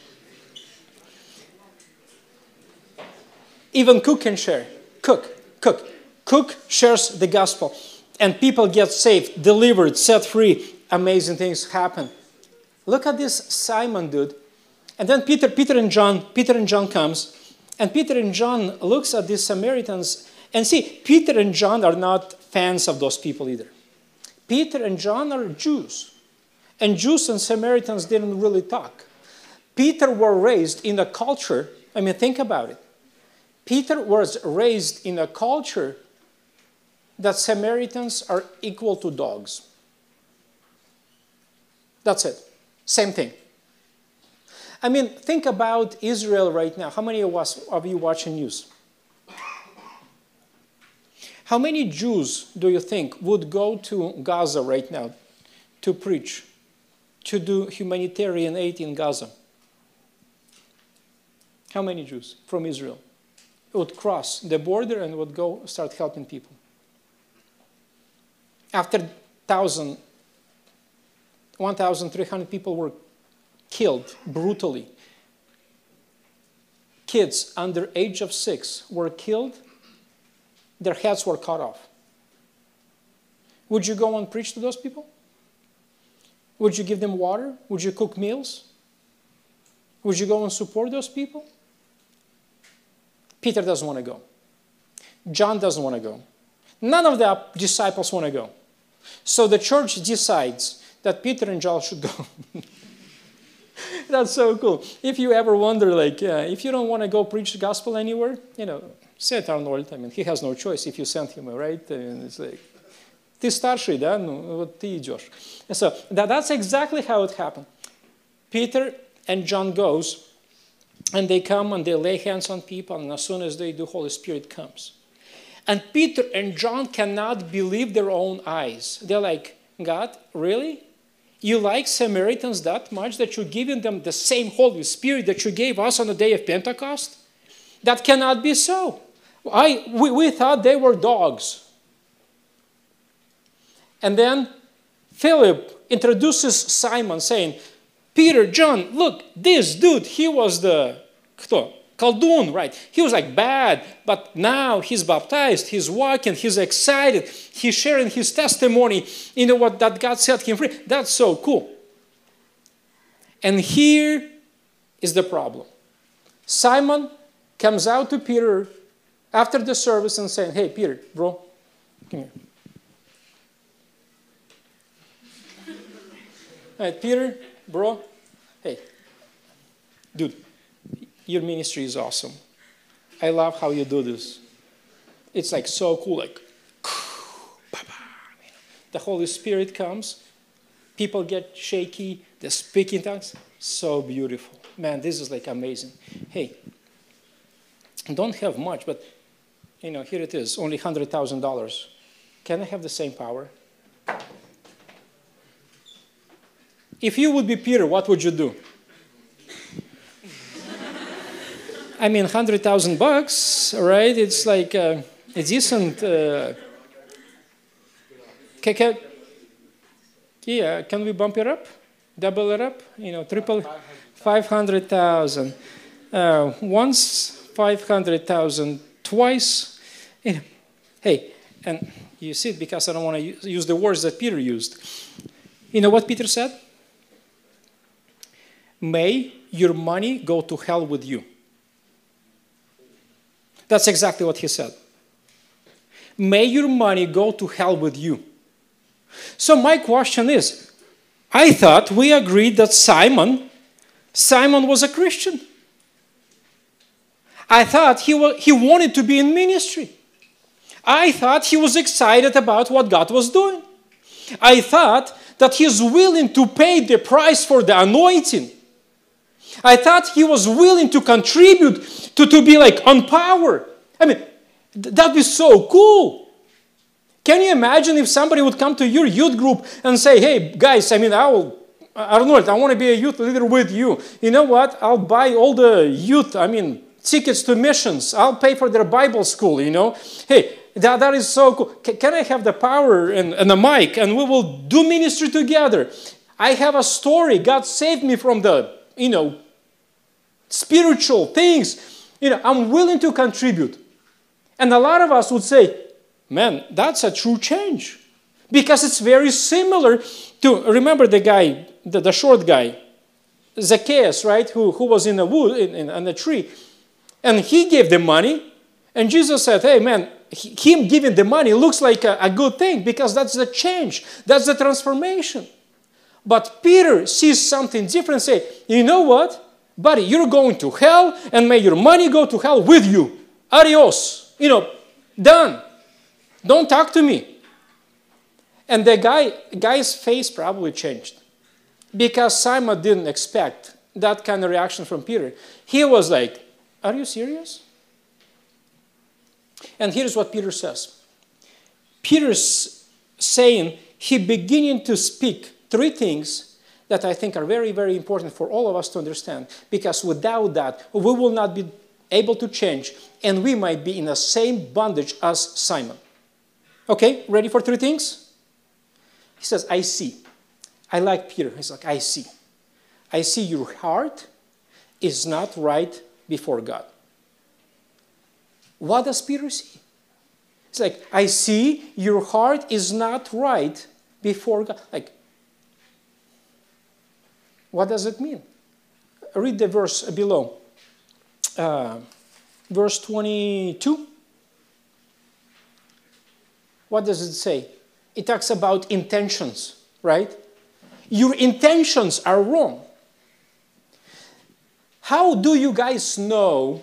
Even cook can share. Cook shares the gospel. And people get saved, delivered, set free, amazing things happen. Look at this Simon dude. And then Peter and John comes. And Peter and John looks at these Samaritans. And see, Peter and John are not fans of those people either. Peter and John are Jews. And Jews and Samaritans didn't really talk. Peter were raised in a culture, I mean, think about it. Peter was raised in a culture that Samaritans are equal to dogs. That's it. Same thing. I mean, think about Israel right now. How many of you watching news? How many Jews do you think would go to Gaza right now to preach, to do humanitarian aid in Gaza? How many Jews from Israel would cross the border and would go start helping people? After 1,300 people were killed brutally. Kids under age of 6 were killed. Their heads were cut off. Would you go and preach to those people? Would you give them water? Would you cook meals? Would you go and support those people? Peter doesn't want to go. John doesn't want to go. None of the disciples want to go. So the church decides that Peter and John should go. That's so cool. If you ever wonder, like, if you don't want to go preach the gospel anywhere, send Arnold. I mean, he has no choice if you send him, right? And it's like, ты старший, да? Ну, вот ты идешь. And so that's exactly how it happened. Peter and John goes, and they come and they lay hands on people, and as soon as they do, Holy Spirit comes. And Peter and John cannot believe their own eyes. They're like, God, really? You like Samaritans that much that you're giving them the same Holy Spirit that you gave us on the day of Pentecost? That cannot be so. We thought they were dogs. And then Philip introduces Simon saying, Peter, John, look, this dude, he was the Kaldun, right? He was like bad, but now he's baptized, he's walking, he's excited, he's sharing his testimony, what, that God set him free. That's so cool. And here is the problem. Simon comes out to Peter after the service and saying, hey, Peter, bro, come here. All right, Peter, bro, hey, dude, your ministry is awesome. I love how you do this. It's like so cool, like, the Holy Spirit comes, people get shaky, they speak in tongues, so beautiful. Man, this is like amazing. Hey, don't have much, but here it is, only $100,000. Can I have the same power? If you would be Peter, what would you do? I mean, $100,000, right? It's like a decent. Can we bump it up, double it up? Triple, 500,000. Once 500,000, twice. Hey, and you see it because I don't want to use the words that Peter used. You know what Peter said? May your money go to hell with you. That's exactly what he said. May your money go to hell with you. So my question is, I thought we agreed that Simon was a Christian. I thought he wanted to be in ministry. I thought he was excited about what God was doing. I thought that he's willing to pay the price for the anointing. I thought he was willing to contribute to be like on power. I mean, that'd be so cool. Can you imagine if somebody would come to your youth group and say, hey, guys, I want to be a youth leader with you. You know what? I'll buy all the youth, tickets to missions. I'll pay for their Bible school, Hey, that is so cool. Can I have the power and the mic and we will do ministry together? I have a story. God saved me from the, spiritual things. I'm willing to contribute. And a lot of us would say, man, that's a true change. Because it's very similar to, remember the guy, the short guy, Zacchaeus, right, who was in a wood, in a tree, and he gave the money, and Jesus said, hey man, him giving the money looks like a good thing because that's the change, that's the transformation. But Peter sees something different and say, you know what, buddy, you're going to hell, and may your money go to hell with you. Adios. Done. Don't talk to me. And the guy's face probably changed because Simon didn't expect that kind of reaction from Peter. He was like, are you serious? And here's what Peter says. Peter's saying, he beginning to speak three things that I think are very, very important for all of us to understand, because without that, we will not be able to change, and we might be in the same bondage as Simon. Okay, ready for three things? He says, I see. I like Peter. He's like, I see. I see your heart is not right before God. What does Peter see? It's like, I see your heart is not right before God. Like, what does it mean? Read the verse below. Verse 22. What does it say? It talks about intentions, right? Your intentions are wrong. How do you guys know?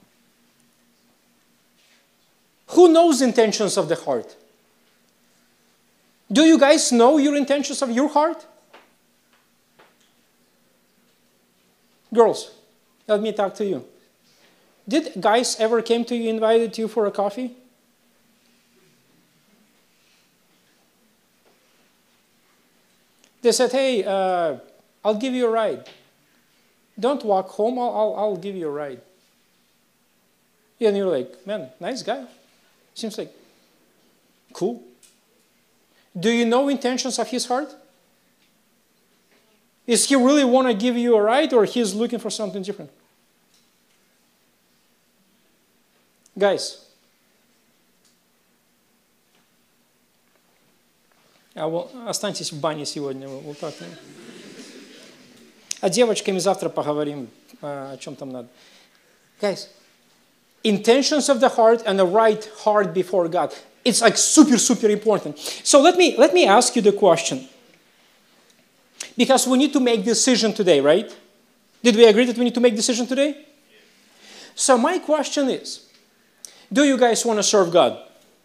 Who knows intentions of the heart? Do you guys know your intentions of your heart? Girls, let me talk to you. Did guys ever came to you, invited you for a coffee? They said, hey, I'll give you a ride. Don't walk home, I'll give you a ride. Yeah, and you're like, man, nice guy. Seems like cool. Do you know intentions of his heart? Is he really want to give you a ride, or he's looking for something different? Guys, останьтесь в бане сегодня, вот так. А девочками завтра поговорим, о чем там надо. Guys, intentions of the heart and the right heart before God. It's like super, super important. So let me ask you the question. Because we need to make decision today, right? Did we agree that we need to make decision today? So my question is, do you guys want to serve God?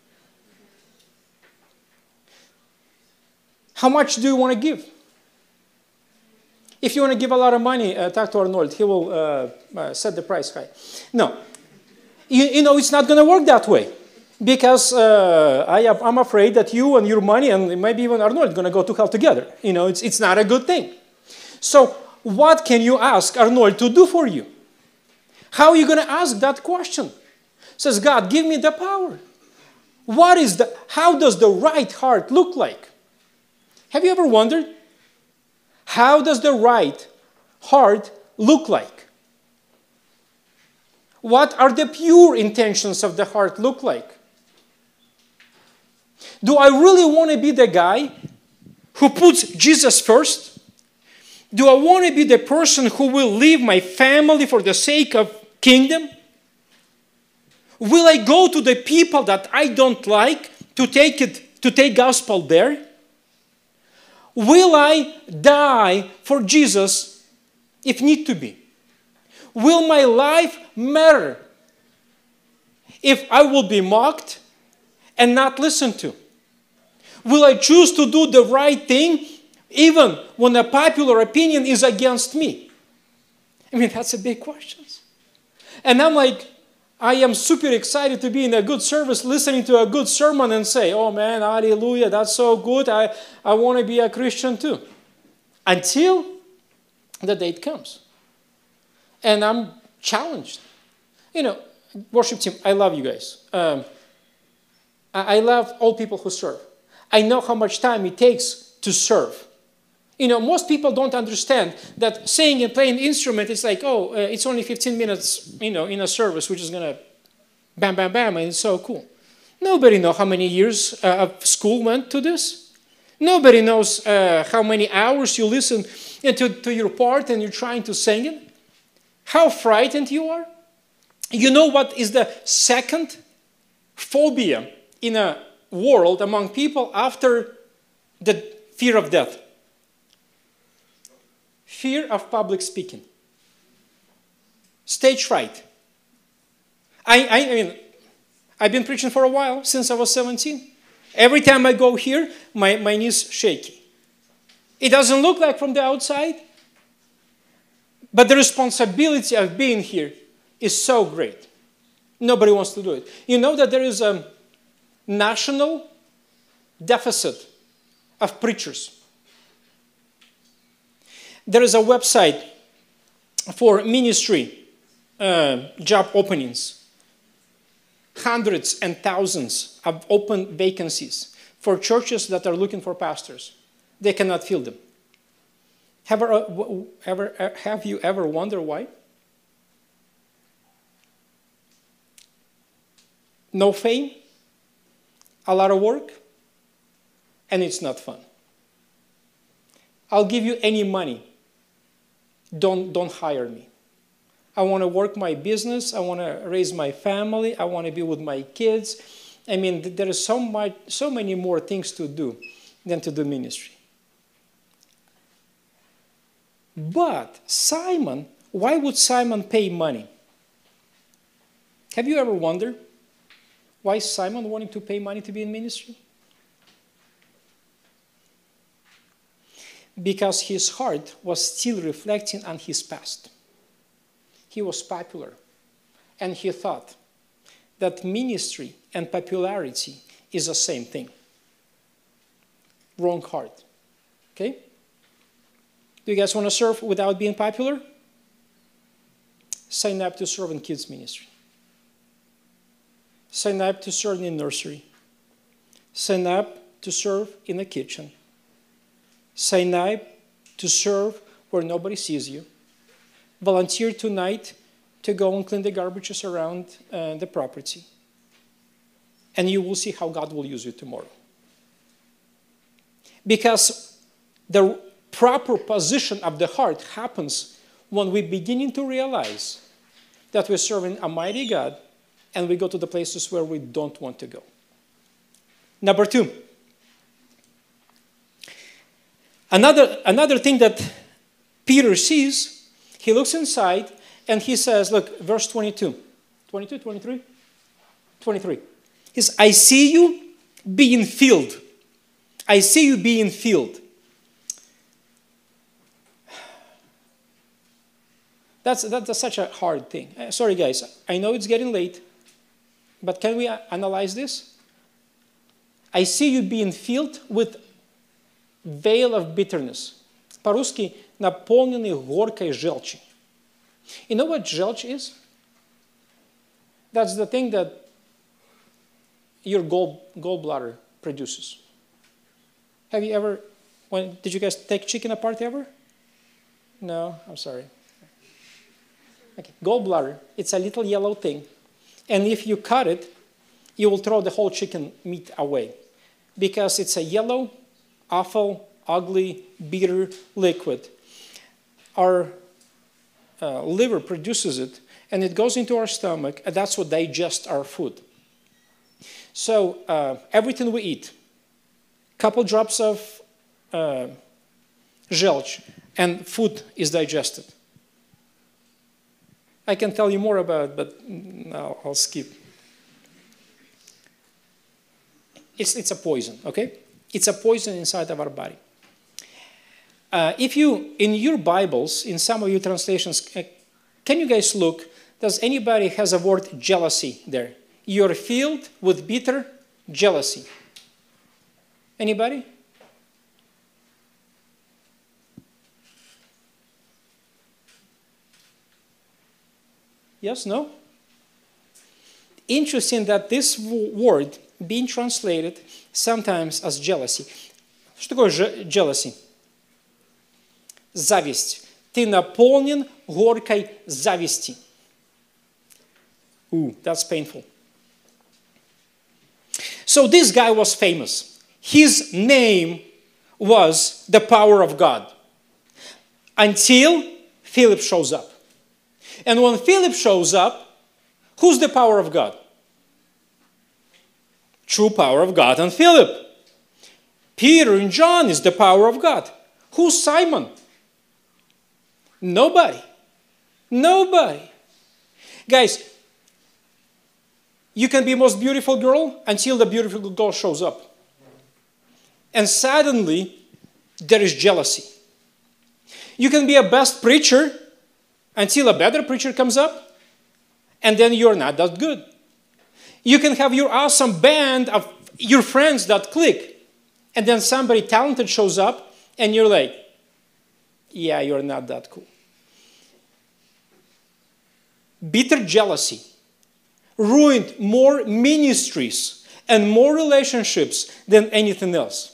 How much do you want to give? If you want to give a lot of money, talk to Arnold. He will set the price high. No. You know, it's not going to work that way. Because I'm afraid that you and your money and maybe even Arnold are going to go to hell together. You know, it's not a good thing. So what can you ask Arnold to do for you? How are you going to ask that question? Says, God, give me the power. How does the right heart look like? Have you ever wondered? How does the right heart look like? What are the pure intentions of the heart look like? Do I really want to be the guy who puts Jesus first? Do I want to be the person who will leave my family for the sake of kingdom? Will I go to the people that I don't like to take gospel there? Will I die for Jesus if need to be? Will my life matter if I will be mocked and not listened to? Will I choose to do the right thing even when a popular opinion is against me? I mean, that's a big question. And I'm like, I am super excited to be in a good service, listening to a good sermon and say, oh man, hallelujah, that's so good. I want to be a Christian too. Until the date comes. And I'm challenged. You know, worship team, I love you guys. I love all people who serve. I know how much time it takes to serve. You know, most people don't understand that singing and playing instrument is like, oh, it's only 15 minutes, you know, in a service, which is going to bam, bam, bam, and it's so cool. Nobody knows how many years of school went to this. Nobody knows how many hours you listen to your part and you're trying to sing it. How frightened you are. You know what is the second phobia in a world among people after the fear of death? Fear of public speaking. Stage fright. I mean, I've been preaching for a while, since I was 17. Every time I go here, my knees shaky. It doesn't look like from the outside, but the responsibility of being here is so great. Nobody wants to do it. You know that there is a national deficit of preachers. There is a website for ministry job openings. Hundreds and thousands of open vacancies for churches that are looking for pastors. They cannot fill them. Have you ever wondered why? No fame, a lot of work, and it's not fun. I'll give you any money. Don't hire me. I want to work my business. I want to raise my family. I want to be with my kids. I mean, there is so many more things to do than to do ministry. But Simon, why would Simon pay money? Have you ever wondered why Simon wanted to pay money to be in ministry? Because his heart was still reflecting on his past. He was popular, and he thought that ministry and popularity is the same thing. Wrong heart. Okay? Do you guys want to serve without being popular? Sign up to serve in kids ministry. Sign up to serve in nursery. Sign up to serve in the kitchen. Sign up to serve where nobody sees you. Volunteer tonight to go and clean the garbages around the property. And you will see how God will use you tomorrow. Because the proper position of the heart happens when we're beginning to realize that we're serving a mighty God and we go to the places where we don't want to go. Number 2. Another thing that Peter sees, he looks inside and he says, look, verse 22. 22, 23? 23. He says, I see you being filled. I see you being filled. That's such a hard thing. Sorry, guys. I know it's getting late, but can we analyze this? I see you being filled with veil of bitterness. По-русски наполненный горькой желчи. You know what желчь is? That's the thing that your gallbladder produces. Have you ever, did you guys take chicken apart ever? No, I'm sorry. Okay. Gallbladder, it's a little yellow thing. And if you cut it, you will throw the whole chicken meat away. Because it's a yellow, awful, ugly, bitter liquid. Our liver produces it, and it goes into our stomach, and that's what digests our food. So everything we eat, couple drops of желчь, and food is digested. I can tell you more about it, but no, I'll skip. It's a poison, okay? It's a poison inside of our body. If you, in your Bibles, in some of your translations, can you guys look, does anybody has a word jealousy there? You're filled with bitter jealousy. Anybody? Yes, no? Interesting that this word being translated sometimes as jealousy. Что такое jealousy? Зависть. Ты наполнен горькой зависти. Ooh, that's painful. So this guy was famous. His name was the power of God until Philip shows up. And when Philip shows up, who's the power of God? True power of God and Philip. Peter and John is the power of God. Who's Simon? Nobody. Nobody. Guys, you can be the most beautiful girl until the beautiful girl shows up. And suddenly, there is jealousy. You can be a best preacher until a better preacher comes up, and then you're not that good. You can have your awesome band of your friends that click, and then somebody talented shows up, and you're like, yeah, you're not that cool. Bitter jealousy ruined more ministries and more relationships than anything else.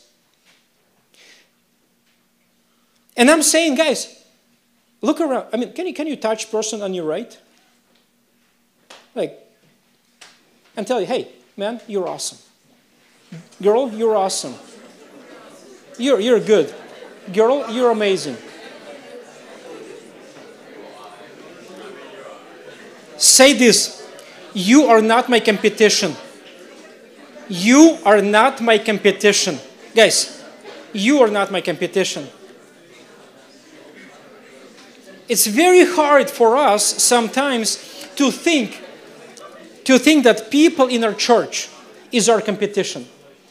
And I'm saying, guys, look around. I mean, can you touch person on your right? Like, and tell you, hey, man, you're awesome. Girl, you're awesome. You're good. Girl, you're amazing. Say this, you are not my competition. You are not my competition. Guys, you are not my competition. It's very hard for us sometimes to think that people in our church is our competition.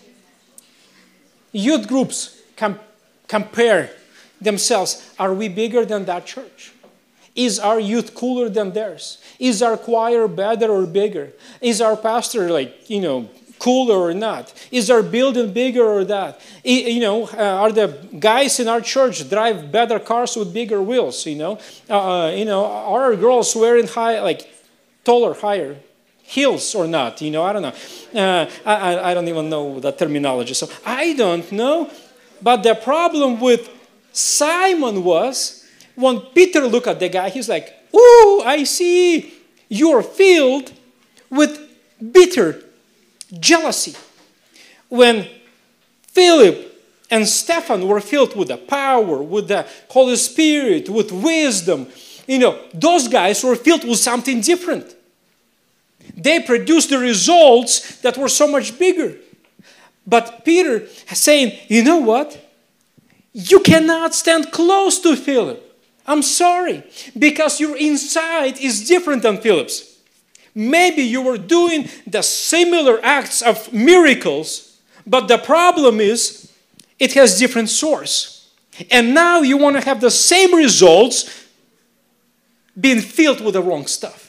Youth groups compare themselves. Are we bigger than that church? Is our youth cooler than theirs? Is our choir better or bigger? Is our pastor cooler or not? Is our building bigger or that? Are the guys in our church drive better cars with bigger wheels? Are our girls wearing taller, higher heels or not? I don't know. I don't even know the terminology, so I don't know. But the problem with Simon was, when Peter looked at the guy, he's like, "Ooh, I see you're filled with bitter jealousy." When Philip and Stephen were filled with the power, with the Holy Spirit, with wisdom, those guys were filled with something different. They produced the results that were so much bigger. But Peter is saying, you know what? You cannot stand close to Philip. I'm sorry, because your inside is different than Philip's. Maybe you were doing the similar acts of miracles, but the problem is it has different source. And now you want to have the same results being filled with the wrong stuff.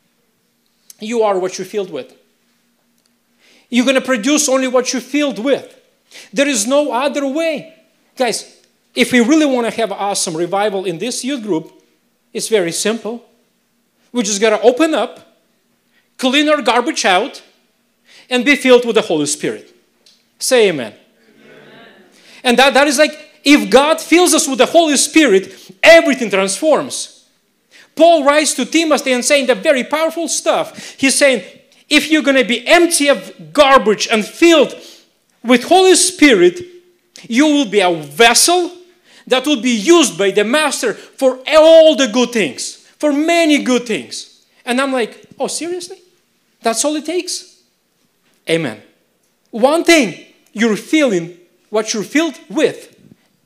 You are what you're filled with. You're going to produce only what you're filled with. There is no other way. Guys, if we really want to have awesome revival in this youth group, it's very simple. We just got to open up, clean our garbage out, and be filled with the Holy Spirit. Say amen. Amen. And that is like, if God fills us with the Holy Spirit, everything transforms. Paul writes to Timothy and saying the very powerful stuff. He's saying, if you're going to be empty of garbage and filled with Holy Spirit, you will be a vessel that will be used by the Master for all the good things, for many good things. And I'm like, oh, seriously? That's all it takes? Amen. One thing, you're feeling, what you're filled with,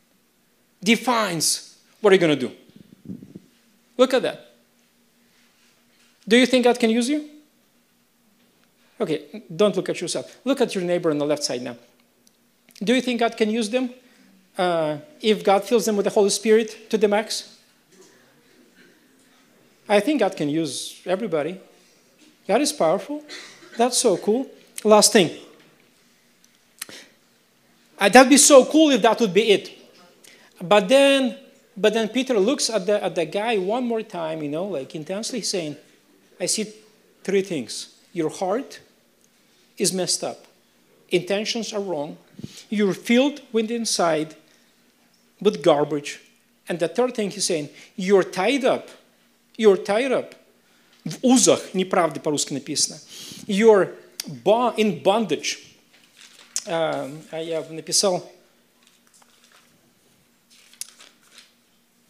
defines what you're going to do. Look at that. Do you think God can use you? Okay, don't look at yourself. Look at your neighbor on the left side now. Do you think God can use them if God fills them with the Holy Spirit to the max? I think God can use everybody. God is powerful. That's so cool. Last thing. That'd be so cool if that would be it. But then Peter looks at the guy one more time, intensely saying, I see three things. Your heart is messed up. Intentions are wrong. You're filled with inside with garbage. And the third thing he's saying, you're tied up. You're tied up. В узах, неправда по-русски написано. You're in bondage. Я написал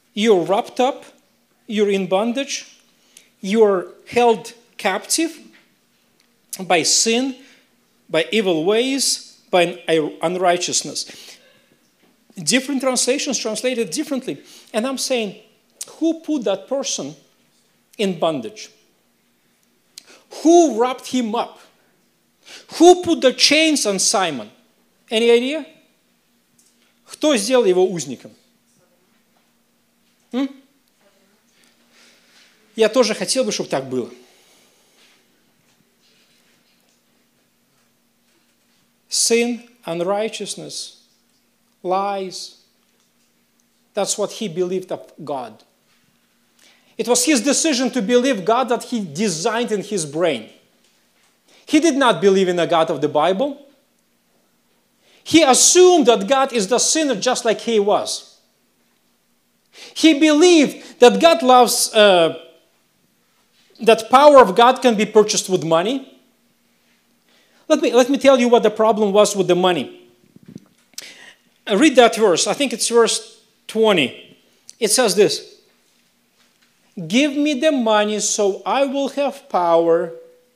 You're wrapped up. You're in bondage. You're held captive by sin, by evil ways, by unrighteousness. Different translations translate it differently. And I'm saying, who put that person in bondage? Who wrapped him up? Who put the chains on Simon? Any idea? Кто сделал его узником? Я тоже хотел бы, чтобы так было. Sin, unrighteousness, lies. That's what he believed of God. It was his decision to believe God that he designed in his brain. He did not believe in the God of the Bible. He assumed that God is the sinner just like he was. He believed that God loves, that power of God can be purchased with money. Let me tell you what the problem was with the money. Read that verse. I think it's verse 20. It says this. Give me the money so I will have power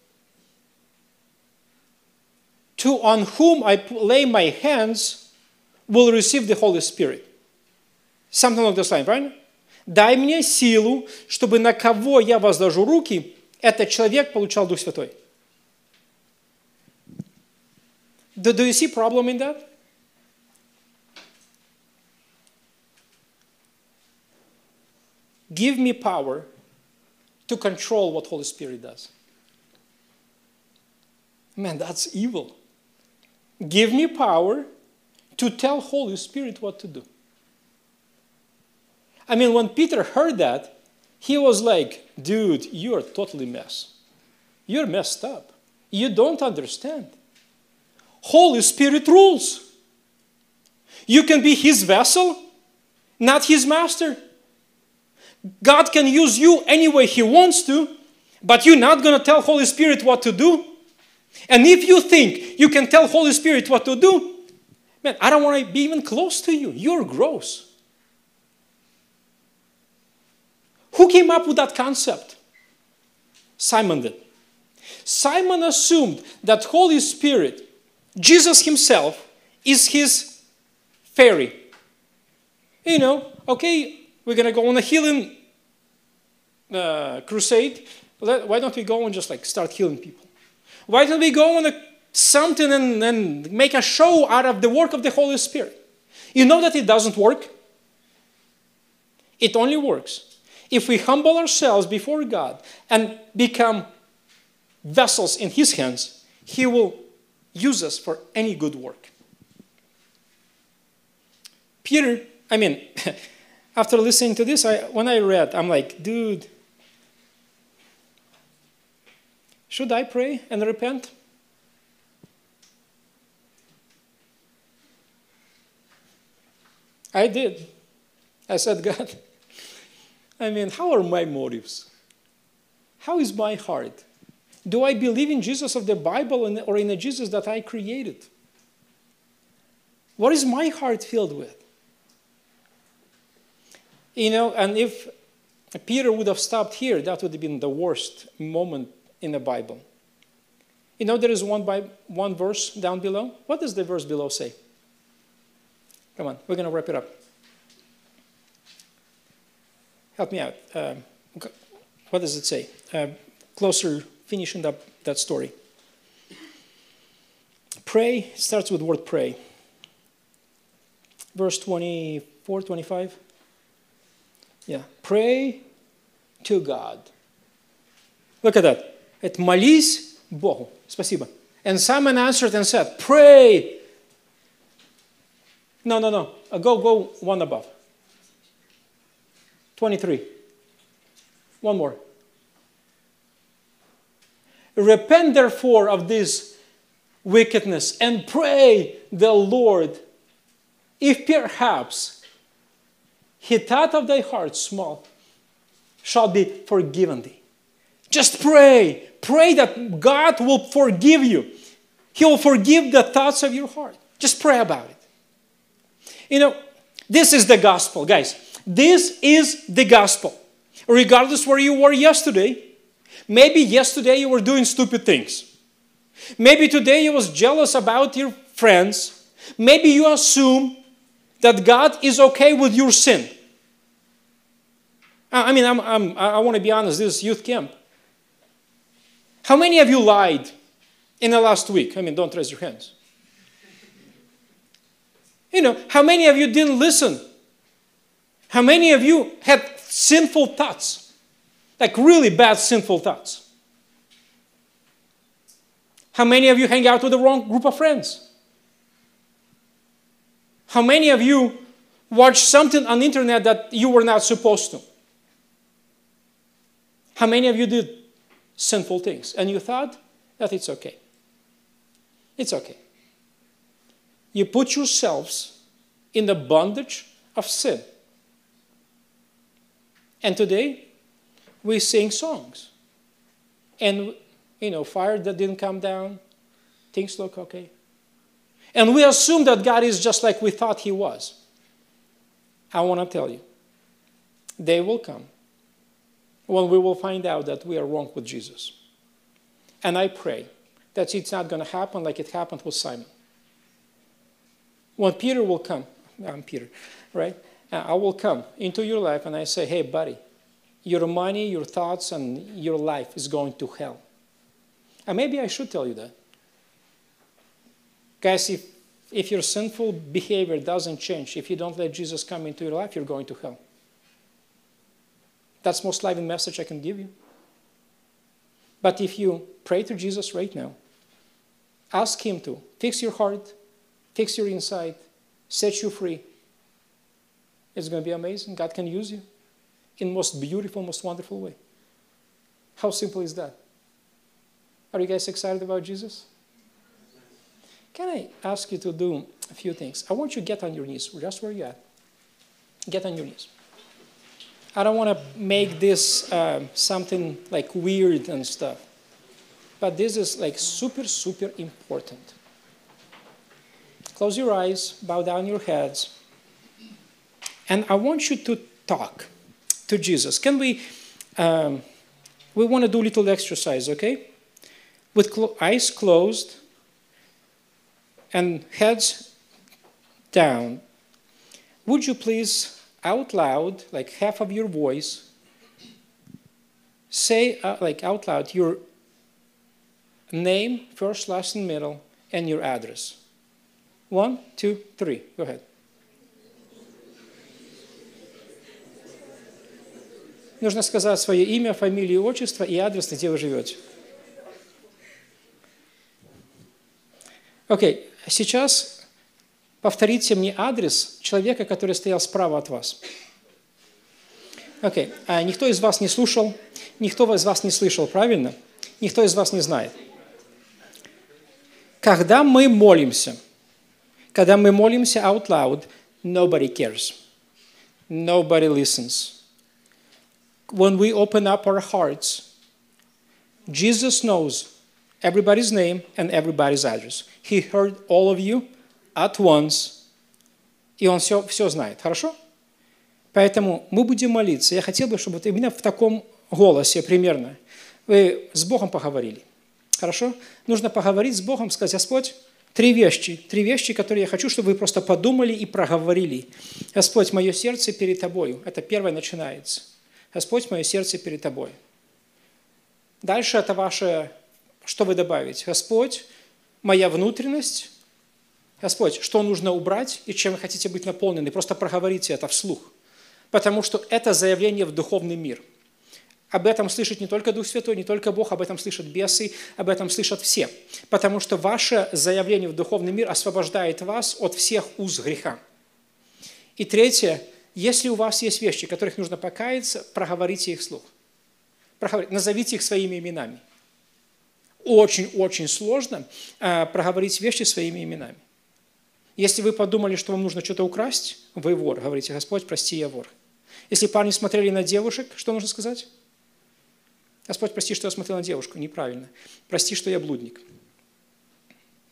to on whom I lay my hands will receive the Holy Spirit. Something along this line, правильно? Дай мне силу, чтобы на кого я возложу руки, этот человек получал Дух Святой. Do you see problem in that? Give me power to control what Holy Spirit does. Man, that's evil. Give me power to tell Holy Spirit what to do. I mean, when Peter heard that, he was like, dude, you're totally mess. You're messed up. You don't understand. Holy Spirit rules. You can be his vessel, not his master. God can use you any way he wants to, but you're not going to tell Holy Spirit what to do. And if you think you can tell Holy Spirit what to do, man, I don't want to be even close to you. You're gross. Who came up with that concept? Simon did. Simon assumed that Holy Spirit, Jesus himself, is his fairy. You know, okay, we're going to go on a healing crusade. Why don't we go and just like start healing people? Why don't we go on something and make a show out of the work of the Holy Spirit? You know that it doesn't work. It only works if we humble ourselves before God and become vessels in his hands. He will use us for any good work. Peter, I mean, after listening to this, when I read, I'm like, dude, should I pray and repent? I did. I said, God, I mean, how are my motives? How is my heart? Do I believe in Jesus of the Bible or in a Jesus that I created? What is my heart filled with? You know, and if Peter would have stopped here, that would have been the worst moment in the Bible. You know, there is one verse down below. What does the verse below say? Come on, we're going to wrap it up. Help me out. What does it say? Closer, finishing up that story. Pray starts with the word pray. Verse 24, 25. Yeah. Pray to God. Look at that. Это молись Богу. Спасибо. And Simon answered and said, pray. No. Go one above. 23. One more. Repent therefore of this wickedness and pray the Lord, if perhaps he thought of thy heart small, shall be forgiven thee. Just pray. Pray that God will forgive you. He will forgive the thoughts of your heart. Just pray about it. You know, this is the gospel, guys. This is the gospel. Regardless where you were yesterday, maybe yesterday you were doing stupid things. Maybe today you was jealous about your friends. Maybe you assume that God is okay with your sin. I mean, I want to be honest, this is youth camp. How many of you lied in the last week? I mean, don't raise your hands. How many of you didn't listen? How many of you had sinful thoughts? Like really bad sinful thoughts? How many of you hang out with the wrong group of friends? How many of you watched something on the internet that you were not supposed to? How many of you did sinful things and you thought that it's okay? It's okay. You put yourselves in the bondage of sin. And today, we sing songs. And, fire that didn't come down, things look okay. And we assume that God is just like we thought He was. I want to tell you, day will come when we will find out that we are wrong with Jesus. And I pray that it's not going to happen like it happened with Simon. When Peter will come, I'm Peter, right? I will come into your life and I say, hey, buddy, your money, your thoughts, and your life is going to hell. And maybe I should tell you that. Guys, if your sinful behavior doesn't change, if you don't let Jesus come into your life, you're going to hell. That's the most living message I can give you. But if you pray to Jesus right now, ask Him to fix your heart, fix your inside, set you free, it's going to be amazing. God can use you in the most beautiful, most wonderful way. How simple is that? Are you guys excited about Jesus? Can I ask you to do a few things? I want you to get on your knees, just where you're at. Get on your knees. I don't want to make this something like weird and stuff. But this is like super, super important. Close your eyes, bow down your heads. And I want you to talk to Jesus. Can we want to do a little exercise, okay? With eyes closed and heads down. Would you please, out loud, like half of your voice, say out loud your name, first, last, and middle, and your address. 1, 2, 3. Go ahead. Нужно сказать свое имя, фамилию, отчество и адрес, где вы живете. Окей, сейчас повторите мне адрес человека, который стоял справа от вас. Окей, никто из вас не слушал, никто из вас не слышал, правильно? Никто из вас не знает. Когда мы молимся out loud, nobody cares. Nobody listens. When we open up our hearts, Jesus knows everybody's name and everybody's address. He heard all of you at once, и Он все знает. Хорошо? Поэтому мы будем молиться. Я хотел бы, чтобы вот именно в таком голосе примерно вы с Богом поговорили. Хорошо? Нужно поговорить с Богом, сказать: Господь, три вещи, которые я хочу, чтобы вы просто подумали и проговорили. Господь, мое сердце перед Тобою. Это первое начинается. Господь, мое сердце перед Тобой. Дальше это ваше, что вы добавите? Господь, моя внутренность. Господь, что нужно убрать и чем вы хотите быть наполнены? Просто проговорите это вслух. Потому что это заявление в духовный мир. Об этом слышит не только Дух Святой, не только Бог, об этом слышат бесы, об этом слышат все. Потому что ваше заявление в духовный мир освобождает вас от всех уз греха. И третье, если у вас есть вещи, которых нужно покаяться, проговорите их вслух. Назовите их своими именами. Очень-очень сложно проговорить вещи своими именами. Если вы подумали, что вам нужно что-то украсть, вы вор. Говорите: Господь, прости, я вор. Если парни смотрели на девушек, что нужно сказать? Господь, прости, что я смотрел на девушку. Неправильно. Прости, что я блудник.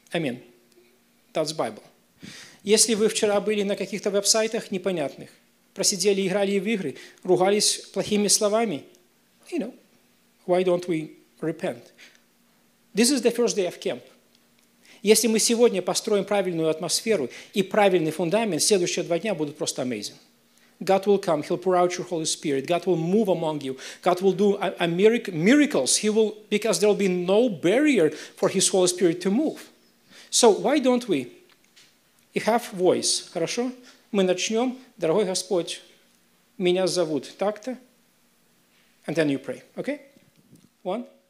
Аминь. That's Bible. Если вы вчера были на каких-то веб-сайтах непонятных, просидели, играли в игры, ругались плохими словами. Why don't we repent? This is the first day of camp. Если мы сегодня построим правильную атмосферу и правильный фундамент, следующие 2 дня будут просто amazing. God will come. He'll pour out your Holy Spirit. God will move among you. God will do miracles. Because there will be no barrier for His Holy Spirit to move. So why don't we? You have voice. Хорошо? Мы начнем. Дорогой Господь, меня зовут так-то. And then you pray. Okay? 1.